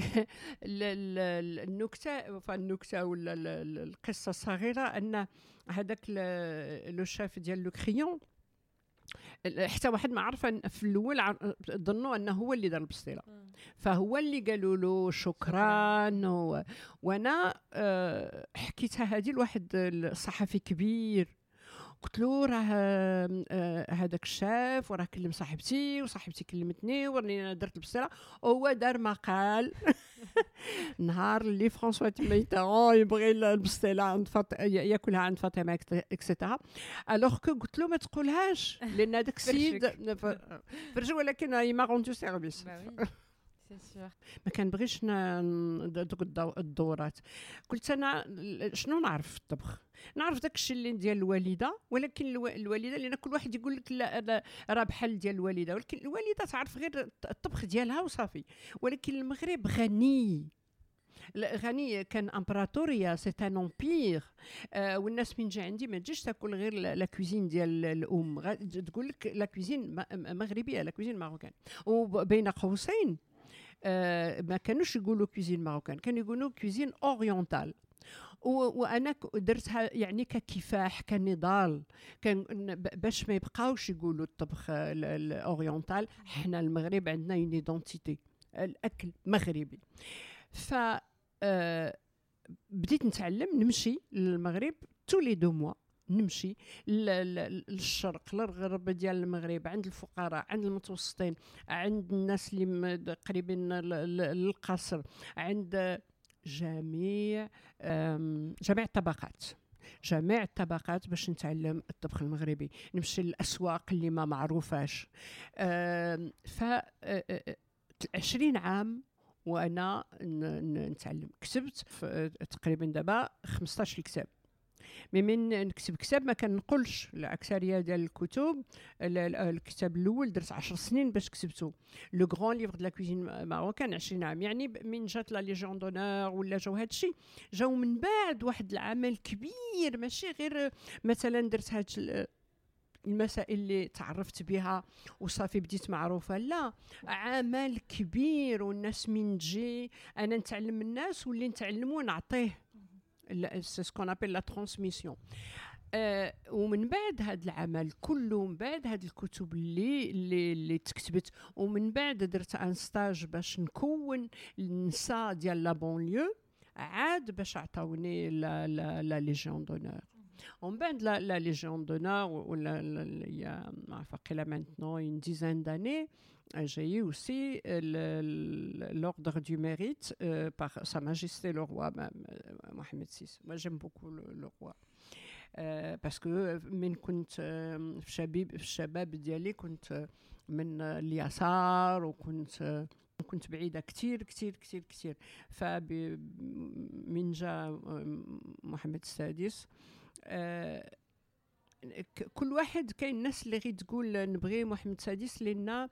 النكته ولا القصه الصغيره ان هذاك لو شاف ديال لو كريون حتى واحد ما عرف في الاول ظنوا انه هو اللي دار البسطيله، فهو اللي قالوا له شكرا. وانا حكيتها هذه لواحد الصحفي كبير، قلت له راه هذاك الشاف وراه كلم صاحبتي وصاحبتي كلمتني وراني انا درت البسطيله، وهو دار مقال نهار اللي فرانسوا ميتيران يبغي البسطيله عند ياكلها عند فاطمه اكسيتيرا. الوغ كو قلت له ما تقولهاش لان هذاك السيد فرج، ولكن هي ما روندو سيرفيس. ما كنبغيش دوك الدورات. قلت انا شنو نعرف في الطبخ؟ نعرف داك الشيء اللي ديال الوالده، ولكن الوالده لان كل واحد يقول لك لا راه بحال ديال الوالده، ولكن الوالده تعرف غير الطبخ ديالها وصافي. ولكن المغرب غني غني كان امبراطوريا، سي ان امبير. والناس من جا عندي ما تجيش تاكل غير لا كوزين ديال الام، تقول لك لا كوزين مغربيه، لا كوزين ماروكان. وبين قوسين ما كانوش يقولوا كوزين ماروكان، كانوا يقولوا كوزين اورينتال. وانا درتها يعني ككفاح، كنضال، كان باش ما يبقاوش يقولوا الطبخ الاورينتال. حنا المغرب عندنا اون ايدونتيتي، الاكل مغربي. ف بديت نتعلم، نمشي للمغرب تولي 2 موا، نمشي للشرق للغرب ديال المغرب، عند الفقراء، عند المتوسطين، عند الناس اللي قريبين للقصر، عند جميع الطبقات، جميع الطبقات، باش نتعلم الطبخ المغربي. نمشي للأسواق اللي ما معروفاش. ف 20 عام وانا نتعلم. كتبت تقريبا دابا 15 كتاب. من نكتب كتاب ما كنقولش الاكثريه ديال الكتب. الكتاب الاول درت 10 سنين باش كتبته، لو غران ليفر دو لا كوزين ماروكان 20 عام. يعني من جات لا ليجيون دونور ولا جاو هذا الشيء، جاو من بعد واحد العمل كبير، ماشي غير مثلا درت هاد المسائل اللي تعرفت بها وصافي بديت معروفه، لا، عمل كبير. والناس من تجي انا نتعلم من الناس واللي نتعلموا نعطيه، سي سكون ابل لا ترانسميسيون. ومن بعد هذا العمل كله، من بعد هذه الكتب اللي تكتبت، ومن بعد درت ان ستاج باش نكون النساء ديال لا بونليو، عاد باش عطاوني لا ليجيون دونور. ومن بعد لا ليجيون دونور ولا يا ما فقيلا مانتنون une dizaine d'années, j'ai eu aussi l'ordre du mérite par Sa Majesté le Roi Mohamed VI. Moi j'aime beaucoup le roi. parce que من كنت في الشباب ديالي كنت من اليسار، كنت بعيدة كتير كتير كتير كتير. من جاء محمد السادس، كل واحد كاين الناس اللي غير تقول نبغي محمد السادس لأن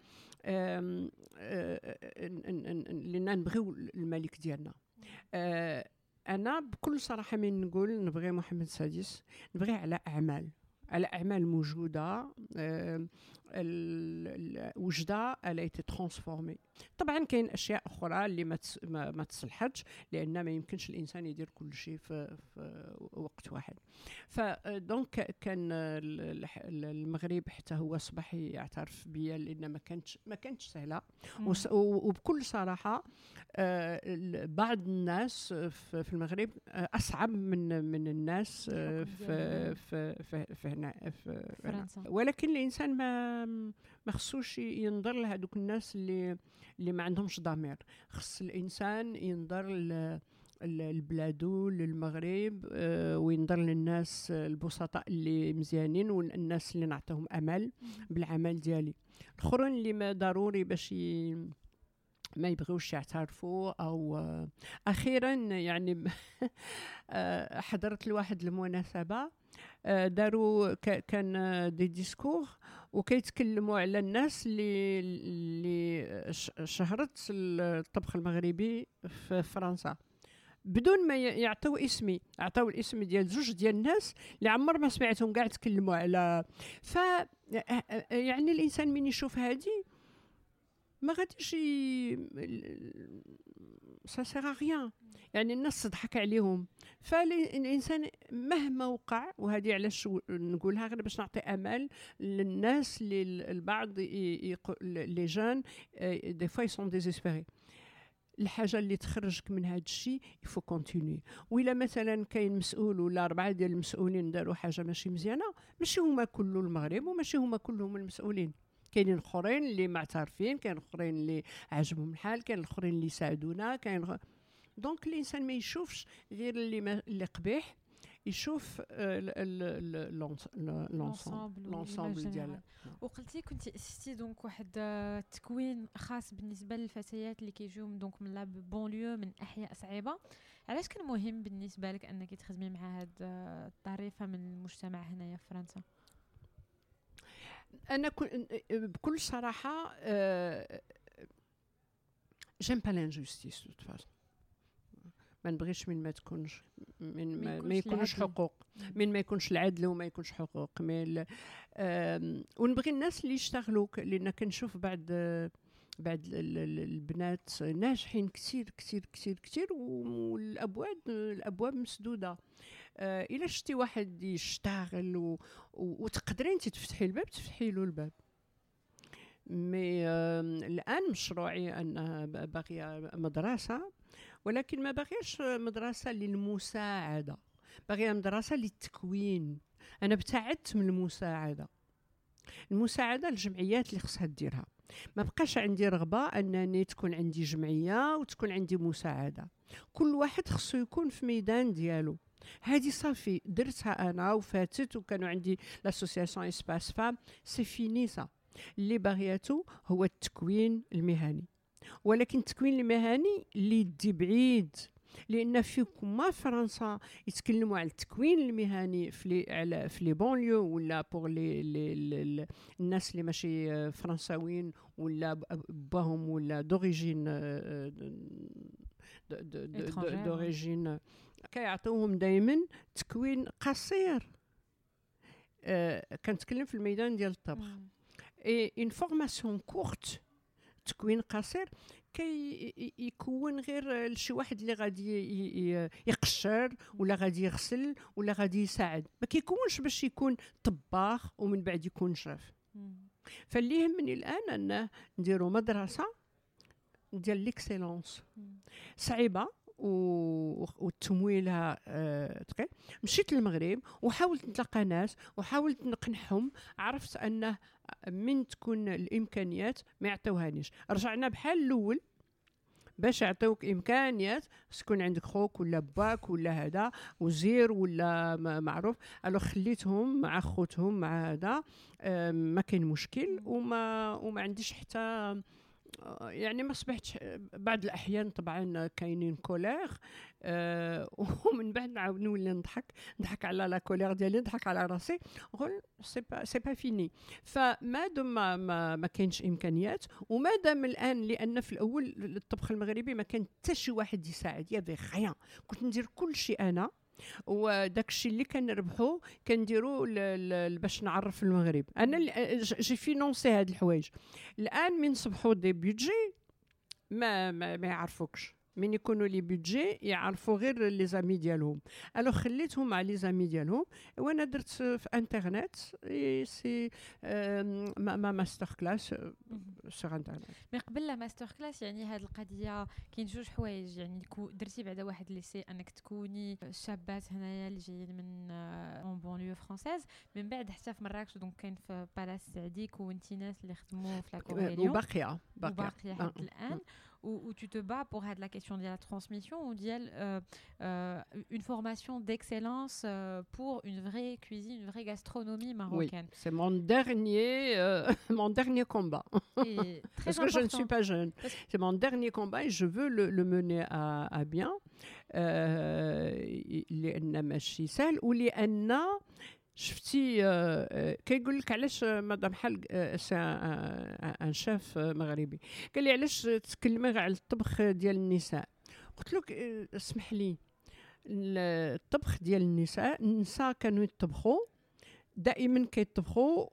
نبغيو الملك ديالنا. أنا بكل صراحة من نقول نبغي محمد السادس، نبغي على أعمال موجودة وجدة elle a été transformée. طبعا كاين اشياء اخرى اللي ما تصلحتش، لان ما يمكنش الانسان يدير كل شيء في وقت واحد. فدونك كان المغرب حتى هو اصبح يعترف بيا، لان ما كانتش سهله. وبكل صراحه بعض الناس في المغرب اصعب من الناس في هنا في فرنسا. ولكن الانسان ما خصوش ينظر لهذوك الناس اللي ما عندهمش ضمير. خص الانسان ينظر لبلادو، للمغرب، وينظر للناس البسطاء اللي مزيانين، والناس اللي نعطيهم امل بالعمل ديالي. الاخرين اللي ما ضروري باش ما يبغيوش يعترفوا. او اخيرا يعني حضرت لواحد المناسبه، داروا كان دي ديسكور وكيتكلموا على الناس اللي شهرت الطبخ المغربي في فرنسا بدون ما يعطيو اسمي. عطاو الاسم ديال 2 ديال الناس اللي عمر ما سمعتهم كاع تكلموا على. يعني الانسان من يشوف هذه ما غاديش سا سيغ ريان، يعني الناس تضحك عليهم. فالانسان مهما وقع، وهذه علاش نقولها غير باش نعطي امل للناس اللي البعض لي جون دي فوا يسون ديزيسبيري. الحاجه اللي تخرجك من هذا الشيء يفو كونتينيو. وإلا مثلا كاين مسؤول ولا 4 ديال المسؤولين داروا حاجه ماشي مزيانه، ماشي هما كل المغرب وماشي هما كلهم المسؤولين. كاينين الاخرين اللي معترفين، كاين الاخرين اللي عجبهم الحال، كاين الاخرين اللي ساعدونا، دونك الانسان ما يشوفش غير اللي قبيح، يشوف لونسامبل ديالها. وقلتي كنتي اسستي دونك واحد التكوين خاص بالنسبه للفتيات اللي كيجيو دونك من لا بونليو، من احياء صعيبه. علاش كان مهم بالنسبه لك انك تخدمي مع هاد الطريفه من المجتمع هنايا في فرنسا؟ أنا بكل صراحة j'aime pas l'injustice de toute façon. ما نبغيش من ما تكونش، من ما ما يكونش يكونش العدل. حقوق، من ما يكونش العدل وما يكونش حقوق. ونبغي الناس اللي يشتغلوا، لان كنشوف بعد البنات ناجحين كثير كثير كثير كثير، والابواب مسدوده. الا شتي واحد يشتغل وتقدري انت تفتحي الباب، تفتحي له الباب. مي الان مشروعي انها باغيه مدرسه، ولكن ما باغيش مدرسه للمساعده، باغيه مدرسه للتكوين. انا ابتعدت من المساعده الجمعيات اللي خصها ديرها. ما بقاش عندي رغبه انني تكون عندي جمعيه وتكون عندي مساعده. كل واحد خصو يكون في ميدان ديالو. هذه صافي درتها انا وفاتت، وكانوا عندي لاسوسياسيون اسباس فام. سي فيني سا. اللي باغياتو هو التكوين المهني، ولكن التكوين المهني اللي يدي بعيد، لان فيكم فرنسا يتكلموا على التكوين المهني في لي بونليو، ولا بور لي الناس اللي ماشي فرنساويين ولا باهم ولا دوريجين دوريجين، كيعطيوهم دائما تكوين قصير. كنتكلم في الميدان ديال الطبخ. اي اون فورماسيون كورت، تكوين قصير يكون غير لشي واحد اللي غادي يقشر ولا غادي يغسل ولا غادي يساعد، ما كيكونش باش يكون طباخ ومن بعد يكون شاف. فاللي يهمني الان انه نديروا مدرسه ديال ليكسيلونس. صعيبه وتمويلها ثقيل. مشيت للمغرب وحاولت نتلاقى ناس وحاولت نقنعهم، عرفت انه من تكون الامكانيات ما يعطيوهانيش. رجعنا بحال الاول، باش يعطيوك امكانيات تكون عندك خوك ولا باك ولا هذا وزير ولا معروف. الو خليتهم مع خوتهم مع هذا، ما كاين مشكل. وما عنديش حتى يعني ما صبحتش. بعض الأحيان طبعا كاينين كولير، ومن بعد نعاود نولي نضحك على لا كولير ديالي، نضحك على راسي، نقول سي با فيني. فما دام ما كاينش امكانيات، وما دام الان، لان في الاول الطبخ المغربي ما كان حتى شي واحد يساعد، يافي غيان، كنت ندير كل شيء انا، وداك الشيء اللي كنربحو كنديرو باش نعرف المغرب. انا جي فينونسي هاد الحوايج. الان من صبحوا دي بيدجي ما يعرفوكش، من يكونوا لي بيدجي يعرفوا غير لي زامي ديالهم. الو خليتهم مع لي زامي ديالهم، وانا درت في انترنت سي ما ماستر كلاس سور انترنت. مي قبل لا ماستر كلاس، يعني هاد القضيه كاين جوج حوايج. يعني درتي بعدا واحد ليسي انك تكوني شابات هنايا اللي جايين من اون بونليو فرانسيز، من بعد حتى في مراكش، دونك كاين في بالاس السعدي كونتي ناس اللي خدموا في لا كوريليون وباقيه حتى الان. où tu te bats pour la question de la transmission, ou une formation d'excellence pour une vraie cuisine, une vraie gastronomie marocaine. Oui, c'est mon dernier combat. Et très parce que je ne suis pas jeune. C'est mon dernier combat et je veux le mener à bien. لأن ماشي سهل، ولأن شفتي كيقول لك علاش مدام حل ان شاف مغربي قال لي علاش تكلمي على الطبخ ديال النساء. قلت له اسمح لي، الطبخ ديال النساء كانوا يطبخوا دائما، كيطبخوا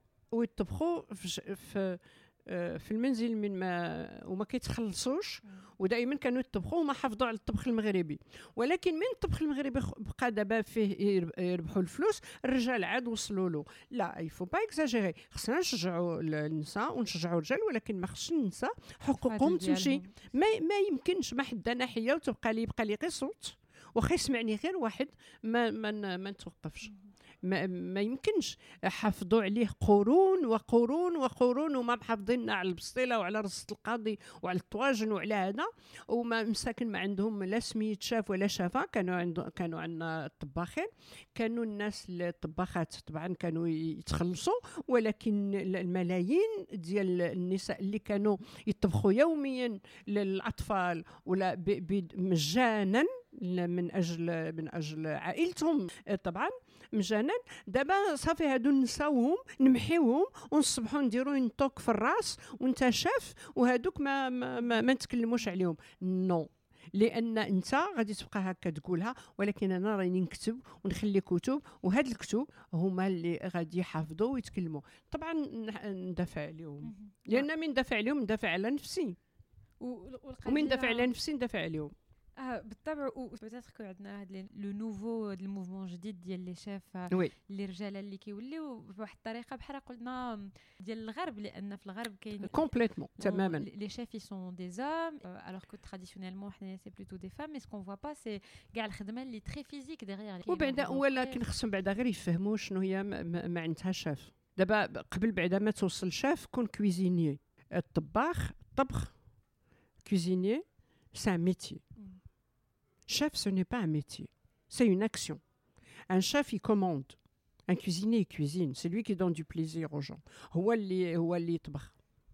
في المنزل من ما وما كيتخلصوش، ودائما كانوا يطبخوا وما حافظوا على الطبخ المغربي. ولكن من الطبخ المغربي بقى دابا فيه يربحوا الفلوس، الرجال عاد وصلوا له. لا يفو با اكزاجيري، خصنا نشجعوا النساء ونشجعوا الرجال، ولكن ما خصش النساء حقوقهم تمشي. ما يمكنش ما حدا ناحيه وتبقى لي غير صوت، واخا يسمعني غير واحد ما نتوقفش. ما يمكنش. حافظوا عليه قرون وقرون وقرون، وما محافظين على البسطيله وعلى رصه القاضي وعلى الطواجن وعلى هذا، وما مساكن ما عندهم لا سميت شاف ولا شافه. كانوا عندنا الطباخين، كانوا الناس الطباخات طبعا كانوا يتخلصوا، ولكن الملايين ديال النساء اللي كانوا يطبخوا يوميا للاطفال ولا مجانا من اجل عائلتهم طبعا مجانا. دابا صافي هادو نساوهم نمحيوهم ونصبحوا نديروا نطوك في الراس وانت شاف، وهادوك ما نتكلموش عليهم. نو، لان انت غادي تبقى هكا تقولها، ولكن انا راني نكتب ونخلي كتب، وهاد الكتب هما اللي غادي يحافظوا ويتكلموا. طبعا ندافع عليهم، لان من ندافع عليهم ندافع على نفسي، ومن ندافع على نفسي ندافع عليهم. بالطبع. وبتاتر كو عندنا هاد لو نوفو الموفمون جديد ديال لي شيف اللي رجاله اللي كيوليو بواحد الطريقه بحال قلنا ديال الغرب، لان في الغرب كاين كومبليتمون تماما لي شيف سون دي زوم alors que traditionnellement حنا سي بلوتو دي فام. مي سكون فوا با سي كاع الخدمه اللي تري فيزيك ديغيغ. وبعدا ولكن خصهم بعدا غير يفهموا شنو هي ما عندها شاف. دابا قبل بعدا ما توصل شاف كون كويزينيي. الطباخ طبخ cuisinier c'est un métier. Chef, ce n'est pas un métier, c'est une action. Un chef, il commande. Un cuisinier, il cuisine. C'est lui qui donne du plaisir aux gens. هو اللي يطبخ.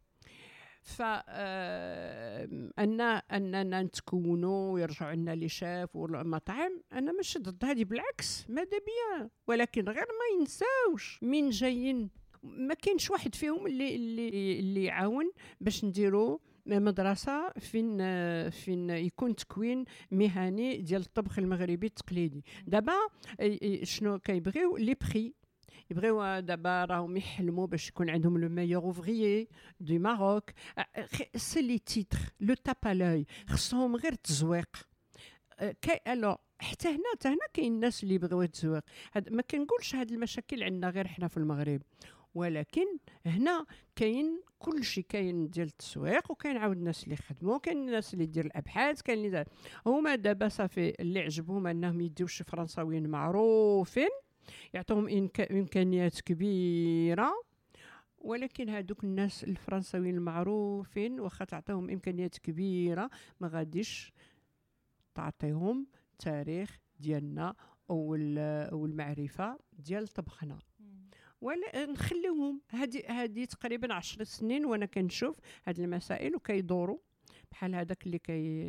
أننا نتكونوا ويرجعوا لنا لي شاف والمطاعم، أنا مش ضد هذه، بالعكس ماذا بيا، ولكن غير ما ينساوش من جايين. ما كاينش واحد فيهم اللي يعاون باش نديروا مدرسة فين يكون تكوين مهني ديال الطبخ المغربي التقليدي. دابا شنو كيبغيو لي بري، يبغيو دابا راهم يحلموا باش يكون عندهم لو ميور اوفريي دو ماروك. سي لي تيتر لو تابالاي، خصهم غير التزويق. الو حتى هنا كاين الناس اللي يبغيو التزويق. ما كنقولش هاد المشاكل عندنا غير حنا في المغرب، ولكن هنا كاين كل شيء، كاين ديال التسويق، وكاين عاود الناس اللي خدموا، كاين الناس اللي دير الابحاث، كاين اللي هما دابا صافي اللي عجبهم انهم يديو شي فرنساويين معروفين يعطوهم امكانيات كبيره. ولكن هادوك الناس الفرنساويين المعروفين واخا تعطيهم امكانيات كبيره ما غاديش تعطيهم تاريخ ديالنا او المعرفه ديال طبخنا. ولا نخليهم هذه تقريبا 10 سنين وانا كنشوف هاد المسائل وكيدوروا بحال هذاك اللي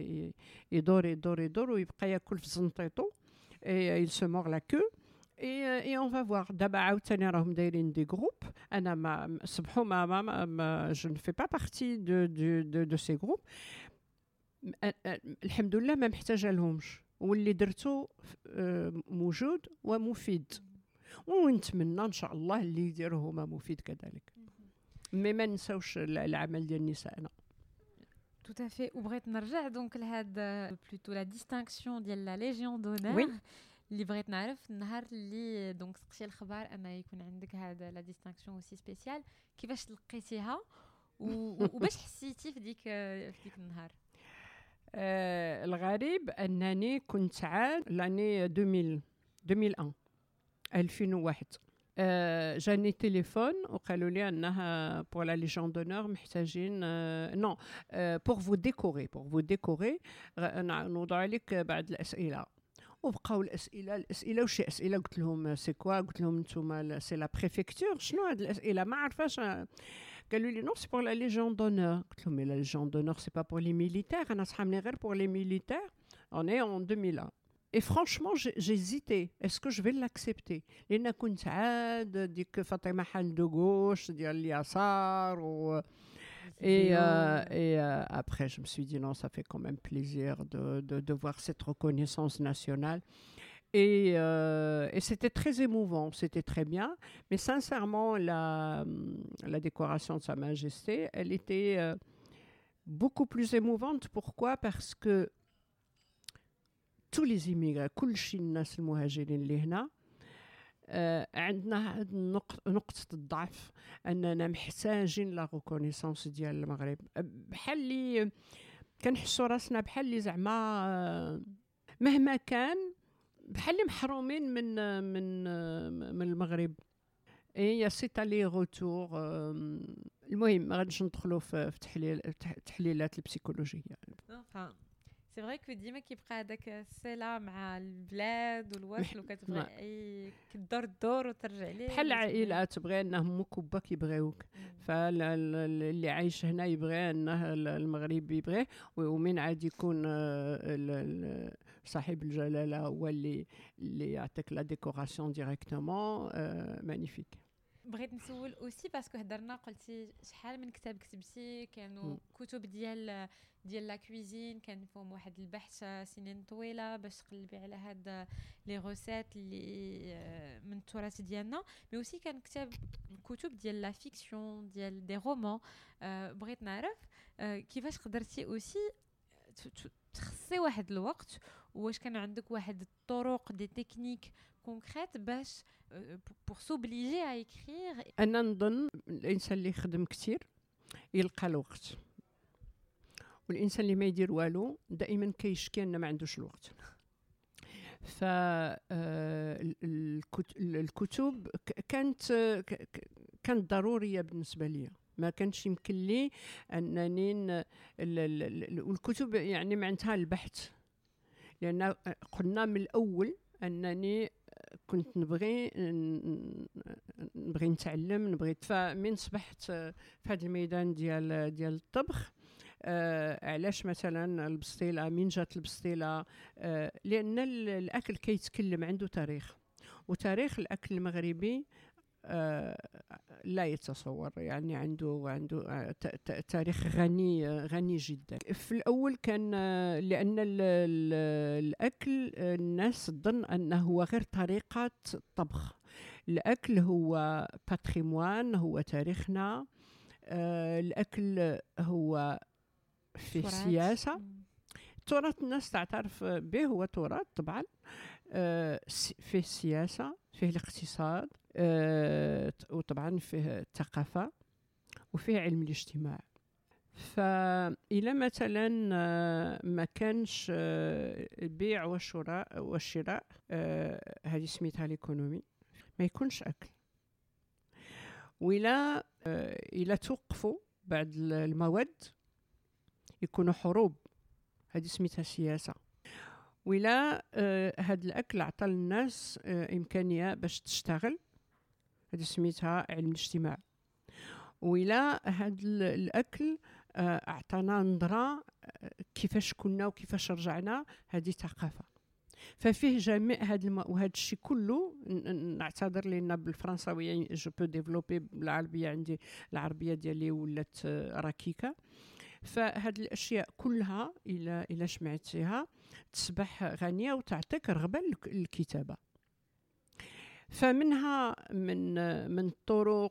يدور ويبقى ياكل في زنطيطو il se mord la queue et on va voir. دابا عاوتاني راهم دايرين دي جروب. انا ما صبحوا ما je ne fais pas partie de ces groupes. الحمد لله ما محتاجه لهمش، واللي درتو موجود ومفيد، ونتمنى ان شاء الله اللي يديروه هما مفيد كذلك. مي ما نساوش العمل ديال نسائنا. تو تافي. وبغيت نرجع دونك لهذا بلوتو لا ديستانكسيون ديال لا ليجيون دونور اللي بغيت نعرف النهار اللي دونك سقتي الخبر ان يكون عندك هذا لا ديستانكسيون اوسي سبيسيال، كيفاش لقيتيها وباش حسيتي في ديك النهار؟ الغريب انني كنت عاد لاني 2001 جاني تليفون وقالوا لي انها pour la Légion d'honneur محتاجين non pour vous décorer نوضع لك بعض الاسئله. وبقاو الاسئله وشي اسئله. قلت لهم سي كوا؟ قلت لهم نتوما سي لا بريفكتور، شنو هاد الاسئله ما عرفاش. قالوا لي نو سي pour la Légion d'honneur. قلت لهم la Légion d'honneur c'est pas pour les militaires، انا صحابني غير pour les militaires. on est en 2001. Et franchement, j'hésitais. Est-ce que je vais l'accepter? لأن كنت عاد ديك فاطمة حال دو غوش ديال اليسار et après je me suis dit non, ça fait quand même plaisir de voir cette reconnaissance nationale. Et c'était très émouvant, c'était très bien. Mais sincèrement, la décoration de Sa Majesté, elle était beaucoup plus émouvante. Pourquoi? Parce que tous les immigrés, كل شيء الناس المهاجرين اللي هنا عندنا نقطة الضعف أننا محتاجين لا ريكونيسانس ديال المغرب. بحال اللي كنحسوا راسنا بحال اللي زعما مهما كان بحال اللي محرومين من المغرب. هي سي تالي روتور. المهم ما غاديش ندخلوا في تحليلات البسيكولوجية. سي فري كو ديما كيبقى هذاك الصله مع البلاد والوصل وكتبغي كدور الدور وترجع ليه بحال العائلات تبغي انهم مكبا كيبغيوك. فاللي عايش هنا يبغي انه المغرب يبغيه، ومن عاد يكون صاحب الجلاله هو اللي يعطيك لا ديكوراسيون ديريكتومون. مانيفيك. بغيت نسول اوسي باسكو هضرنا قلتي شحال من كتاب كتبتي كانوا كتب ديال لا كويزين كان فيهم واحد البحث سنين طويله باش تقلبي على هاد لي روسيت اللي من التراث ديالنا مي اوسي كان كتب ديال لا فيكسيون ديال دي رومان بغيت نعرف كيفاش قدرتي اوسي تخصي واحد الوقت واش كان عندك واحد الطرق دي تكنيك كونكريت باش pour s'obliger à écrire. انا نظن الانسان اللي يخدم كثير يلقى الوقت والانسان اللي ما يدير والو دائما كيشكي انه ما عندوش الوقت. الكتب كانت ضروريه بالنسبه لي ما كانش يمكن لي انني والكتب يعني معناتها البحث لان قلنا من الاول انني كنت نبغي نتعلم فمن صبحت في هذا الميدان ديال الطبخ علاش مثلا البسطيله من جات البسطيله لان الاكل كيتكلم عنده تاريخ وتاريخ الاكل المغربي لا يتصور يعني عنده تاريخ غني جدا. في الأول كان لأن الأكل الناس تظن أنه هو غير طريقة طبخ. الأكل هو باتريموان هو تاريخنا. الأكل هو في السياسة تراث الناس تعترف به هو تراث طبعا فيه السياسة فيه الاقتصاد وطبعا فيه الثقافة وفيه علم الاجتماع. فإلى مثلا ما كانش البيع والشراء هذه سميتها ليكونومي ما يكونش أكل وإلى توقفوا بعد المواد يكونوا حروب هذه سميتها سياسة. ولا هاد الأكل عطى للناس إمكانية باش تشتغل هذه سميتها علم الاجتماع. ولا هاد الأكل أعطانا نظرة كيفاش كنا وكيفاش رجعنا هذه ثقافة. ففيه جميع وهذا الشيء كله نعتذر لنا بالفرنساوية جو بو ديفلوبي بالعربية عندي العربية ديالي ولات ركيكة. فهاد الاشياء كلها الى سمعتيها تصبح غنيه وتعطيك رغبه للكتابه. فمنها من الطرق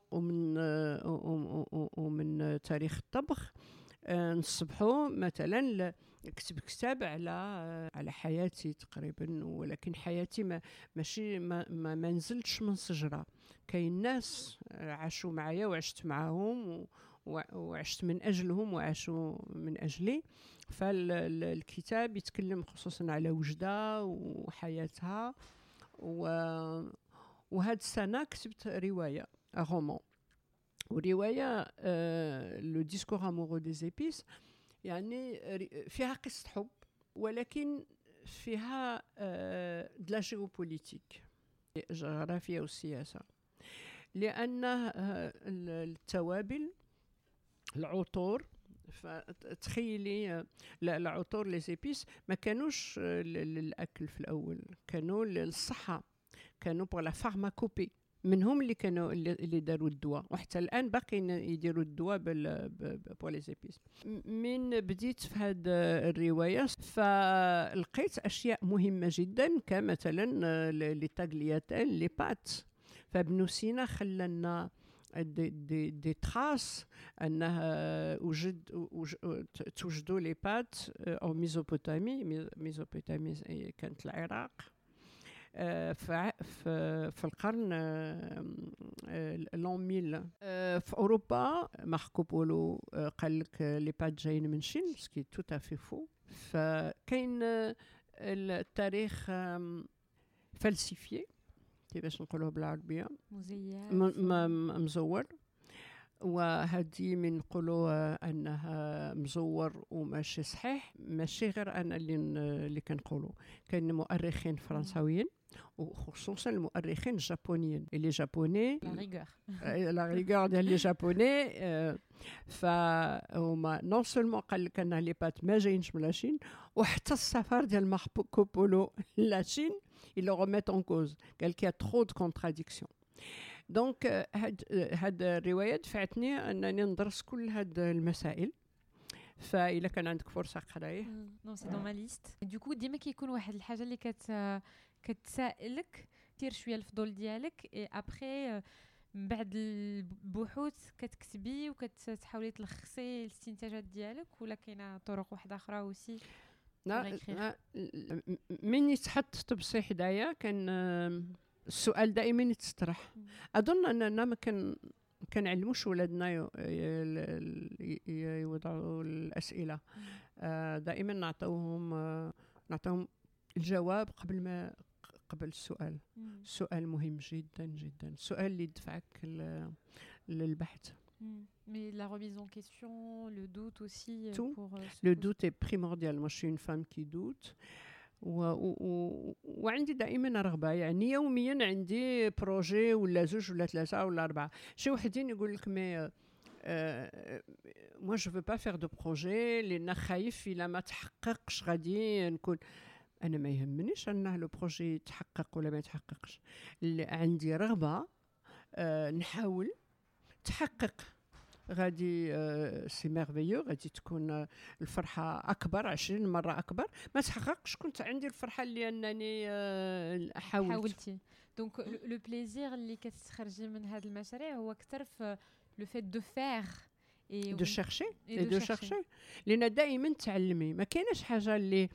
ومن تاريخ الطبخ نصبحوا مثلا كتب كتاب على حياتي تقريبا ولكن حياتي ماشي ما نزلتش من شجره. كاين ناس عاشوا معايا وعشت معاهم وعشت من أجلهم وعاشوا من أجلي. فالكتاب يتكلم خصوصا على وجدة وحياتها. وهاد السنة كتبت رواية رومان ورواية لو ديسكور امورو دي زيبيس يعني فيها قصة حب ولكن فيها دلا جيوبوليتيك الجغرافيا والسياسة لأن التوابل العطور فتخيلي العطور لي زيبيس ما كانوش للاكل في الاول كانوا للصحه كانوا بور لا فارماكوبي منهم اللي كانوا اللي داروا الدواء وحتى الان باقيين يديروا الدواء بور لي زيبيس. من بديت في هذه الروايه فلقيت اشياء مهمه جدا كمثلا لي تاغلياتيل لي بات. فابن سينا خلنا دي تراس انه توجدوا لي بات او ميزوبوتامي كانت العراق في القرن لون 1000 في اوروبا. ماركو بولو قال لك لي بات جايين من الصين سكي تو افي فو. فكاين التاريخ فلسفي كيفاش نقولوه بالعربيه مزور وهذه من نقولوا انها مزور وماشي صحيح ماشي غير انا اللي كنقولوا. كاين مؤرخين فرنساويين وخصوصا المؤرخين الجابونيين اللي جابوني لا ريغور ديال لي جابوني. فهما نون سولمون قال لك ان لي بات ما جايينش من لاشين وحتى السفر ديال ماركو بولو لاشين ils le remettent en cause. قال لك trop de contradictions. دونك هاد الروايه دفعتني انني ندرس كل هاد المسائل. فإلا كان عندك فرصه قرايه. نو سي دون ما ليست. دوكو ديما كيكون واحد الحاجه اللي كتسائلك كثير شويه الفضول ديالك اي ابري من بعد البحوث كتكتبي وكتحاولي تلخصي الاستنتاجات ديالك، ولا كاينه طرق واحده اخرى اوسي؟ لا من يتحط تبصي حدايا كان السؤال دائما يتطرح. اظن اننا ما كنعلموش ولادنا يوضعوا الاسئله. دائما نعطيهم الجواب قبل السؤال. السؤال مهم جدا جدا، السؤال اللي يدفعك للبحث. Mais la remise en question, le doute aussi. Tout. Le doute est primordial. Moi, je suis une femme qui doute. وعندي دائما رغبه، يعني يوميا عندي بروجي ولا زوج ولا ثلاثه ولا اربعه. شي وحدين يقول لك مي moi je veux pas faire de projet لان خايف الا ما تحققش غادي نكون. انا ما يهمنيش انه لو بروجي يتحقق ولا ما يتحققش، عندي رغبه نحاول تحقق. غادي سي ميرفيو، غادي تكون الفرحه اكبر 20 مره اكبر. ما تحققش كنت عندي الفرحه اللي انني حاولتي. دونك لو بليزير اللي كتخرجي من هذا المشاريع هو اكثر في لو فيت دو فير اي دو شيرشي لان دائما تعلمي. ما كايناش حاجه اللي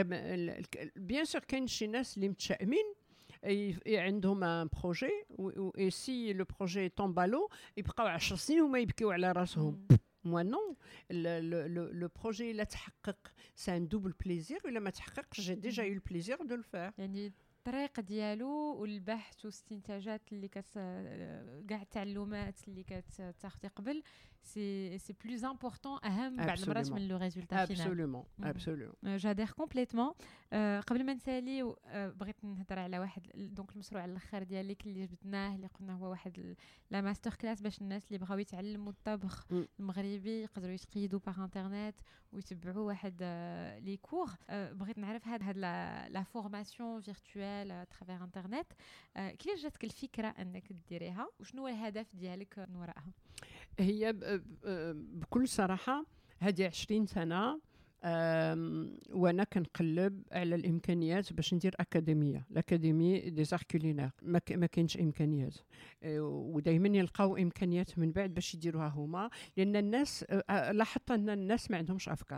بيان سور كاين شي ناس اللي متشائمين عندهم ان بروجي و سي لو بروجي طومبالو يبقاو 10 سنين وما يبكيو على راسهم. مو نو، لو بروجي لا تحقق سي ان دوبل بليزير، ولا ما تحققش جي ديجا يو البليزير دو الفير. يعني الطريق ديالو والبحث والاستنتاجات اللي كاع التعلمات اللي كتاخدي قبل سي بلوز امبورطون، اهم بعض المرات من لو ريزولتا فينال. ابسولومون جادير كومبليتمون. قبل ما نسالي بغيت نهضر على واحد دونك المشروع على الاخر ديالك اللي جبدناه، اللي قلنا هو واحد لا ماستر كلاس باش الناس اللي بغاو يتعلموا الطبخ المغربي يقدروا يتقيدوا باغ انترنت ويتبعوا واحد لي كور. بغيت نعرف هاد لا فورماسيون فيرتوال ترافير انترنت كيفاش جاتك الفكره انك ديريها، وشنو هو الهدف ديالك من وراءها؟ هي بكل صراحه هذه 20 سنه وانا كنقلب على الامكانيات باش ندير الاكاديمي دي زار كولينير. ما كاينش امكانيات، ودائما يلقاو امكانيات من بعد باش يديروها هما، لان الناس لاحظت ان الناس ما عندهمش افكار،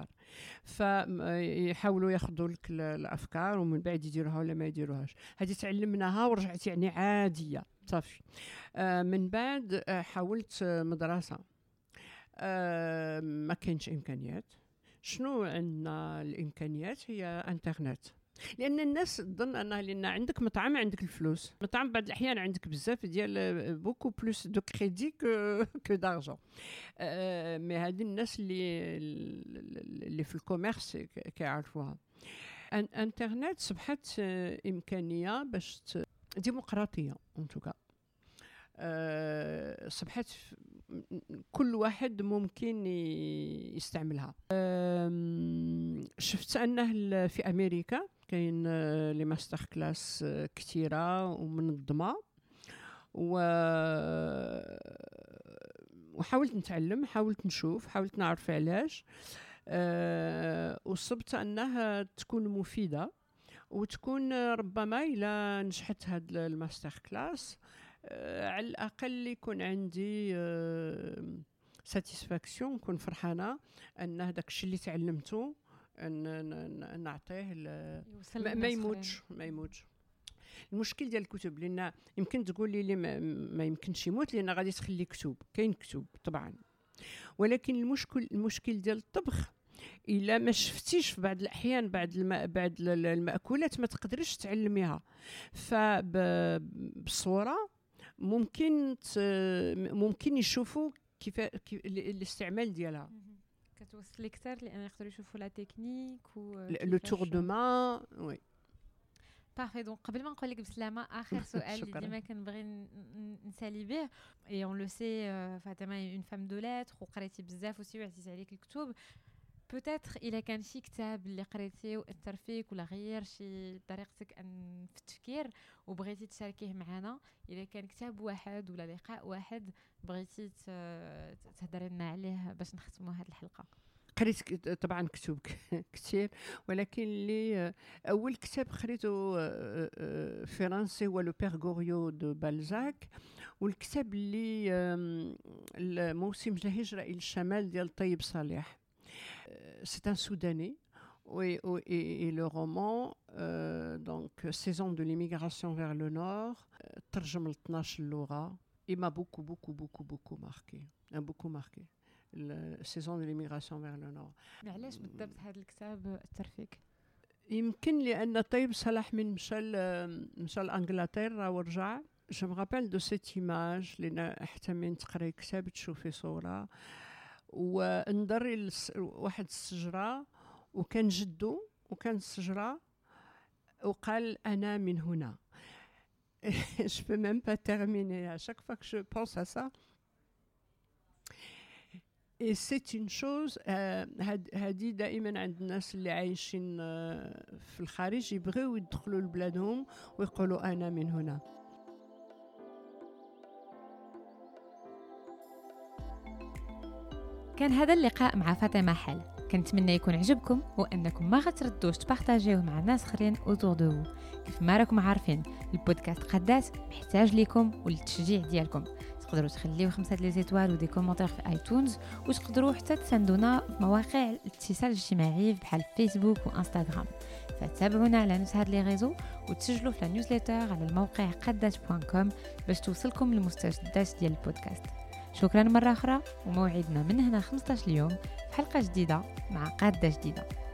فيحاولوا ياخذوا لك الافكار ومن بعد يديروها ولا ما يديروهاش. هذه تعلمناها ورجعت يعني عاديه صافي. من بعد حاولت مدرسه، ما كاينش امكانيات. شنو عندنا الامكانيات؟ هي انترنت، لان الناس تظن انها لان عندك مطعم عندك الفلوس. مطعم بعض الاحيان عندك بزاف ديال بوكو بلوس دو كريدي كو دارجون. مي هذه الناس اللي في الكوميرس كيعرفوها. انترنت صبحت امكانيه باش ديمقراطيه ان توكا. صبحت كل واحد ممكن يستعملها. شفت انه في امريكا كاين لي ماستر كلاس كثيره ومنظمه، وحاولت نتعلم، حاولت نشوف، حاولت نعرف علاش. وصبت انها تكون مفيده وتكون ربما الى نجحت هاد الماستر كلاس على الأقل يكون عندي ساتيسفاكسيون، نكون فرحانة أن هذاك الشيء اللي تعلمته نعطيه ما يموتش. المشكل ديال الكتب لأن يمكن تقولي لي ما يمكنش يموت لأن غادي تخلي كتب، كاين كتب طبعا، ولكن المشكل ديال الطبخ إلا ما شفتيش في بعض الأحيان بعض المأكولات ما تقدريش تعلميها. فبالصورة ممكن يشوفوا كيف الاستعمال ديالها، كتوصل اكثر لان يقدروا يشوفوا لا تكنيك و لو تور دو مان. وي بارفي. دونك قبل ما نقول لك بسلامه، اخر سؤال اللي ديما كنبغي نسالي به، اي اون لو سي فاطمه اون فام دو لاتر وقريتي بزاف وسي وعزيز عليك الكتب. بوتيتر الا كان شي كتاب اللي قريتيه واثر فيك ولا غير شي طريقتك في التفكير وبغيتي تشاركيه معنا، الا كان كتاب واحد ولا لقاء واحد بغيتي تهضري لنا عليه باش نختموا هذه الحلقه. قريت طبعا كتب كثير، ولكن اللي اول كتاب قريته فرنسي هو لو بير غوريو دو بالزاك، والكتاب اللي الموسم الهجرة الى الشمال ديال طيب صالح. C'est un Soudanais. Et le roman, donc Saison de l'immigration vers le nord, ترجم ل 12 لغة. Il m'a beaucoup marqué. La Saison de l'immigration vers le nord. علاش بالضبط هذا الكتاب أثر فيك؟ يمكن لأن طيب صلاح من مشى لإنجلترا ورجع. Je me rappelle de cette image لأن حتى من تقرأي كتاب تشوفي صورة ونضري واحد الشجرة وكان جدو وكان الشجرة وقال أنا من هنا. Je peux même pas terminer. À chaque fois que je pense à ça. Et c'est une chose هذه دائما عند الناس اللي عايشين في الخارج يبغيو يدخلوا لبلادهم ويقولوا أنا من هنا. كان هذا اللقاء مع فاطمة حل، كنتمنى يكون عجبكم وانكم ما غتردوش تبارطاجيوه مع ناس اخرين اوتور دو. كيف ما راكم عارفين البودكاست قداس محتاج ليكم والتشجيع ديالكم. تقدروا تخليو 5 لي زيتوال ودي كومونتير في ايتونز، وتقدروا حتى تساندونا في مواقع الاتصال الاجتماعي بحال فيسبوك وانستغرام. فتابعونا على نفس هاد لي ريزو وتسجلوا في النيوزليتر على الموقع قداس.com باش توصلكم المستجدات ديال البودكاست. شكرا مرة أخرى، وموعدنا من هنا 15 يوم في حلقة جديدة مع قادة جديدة.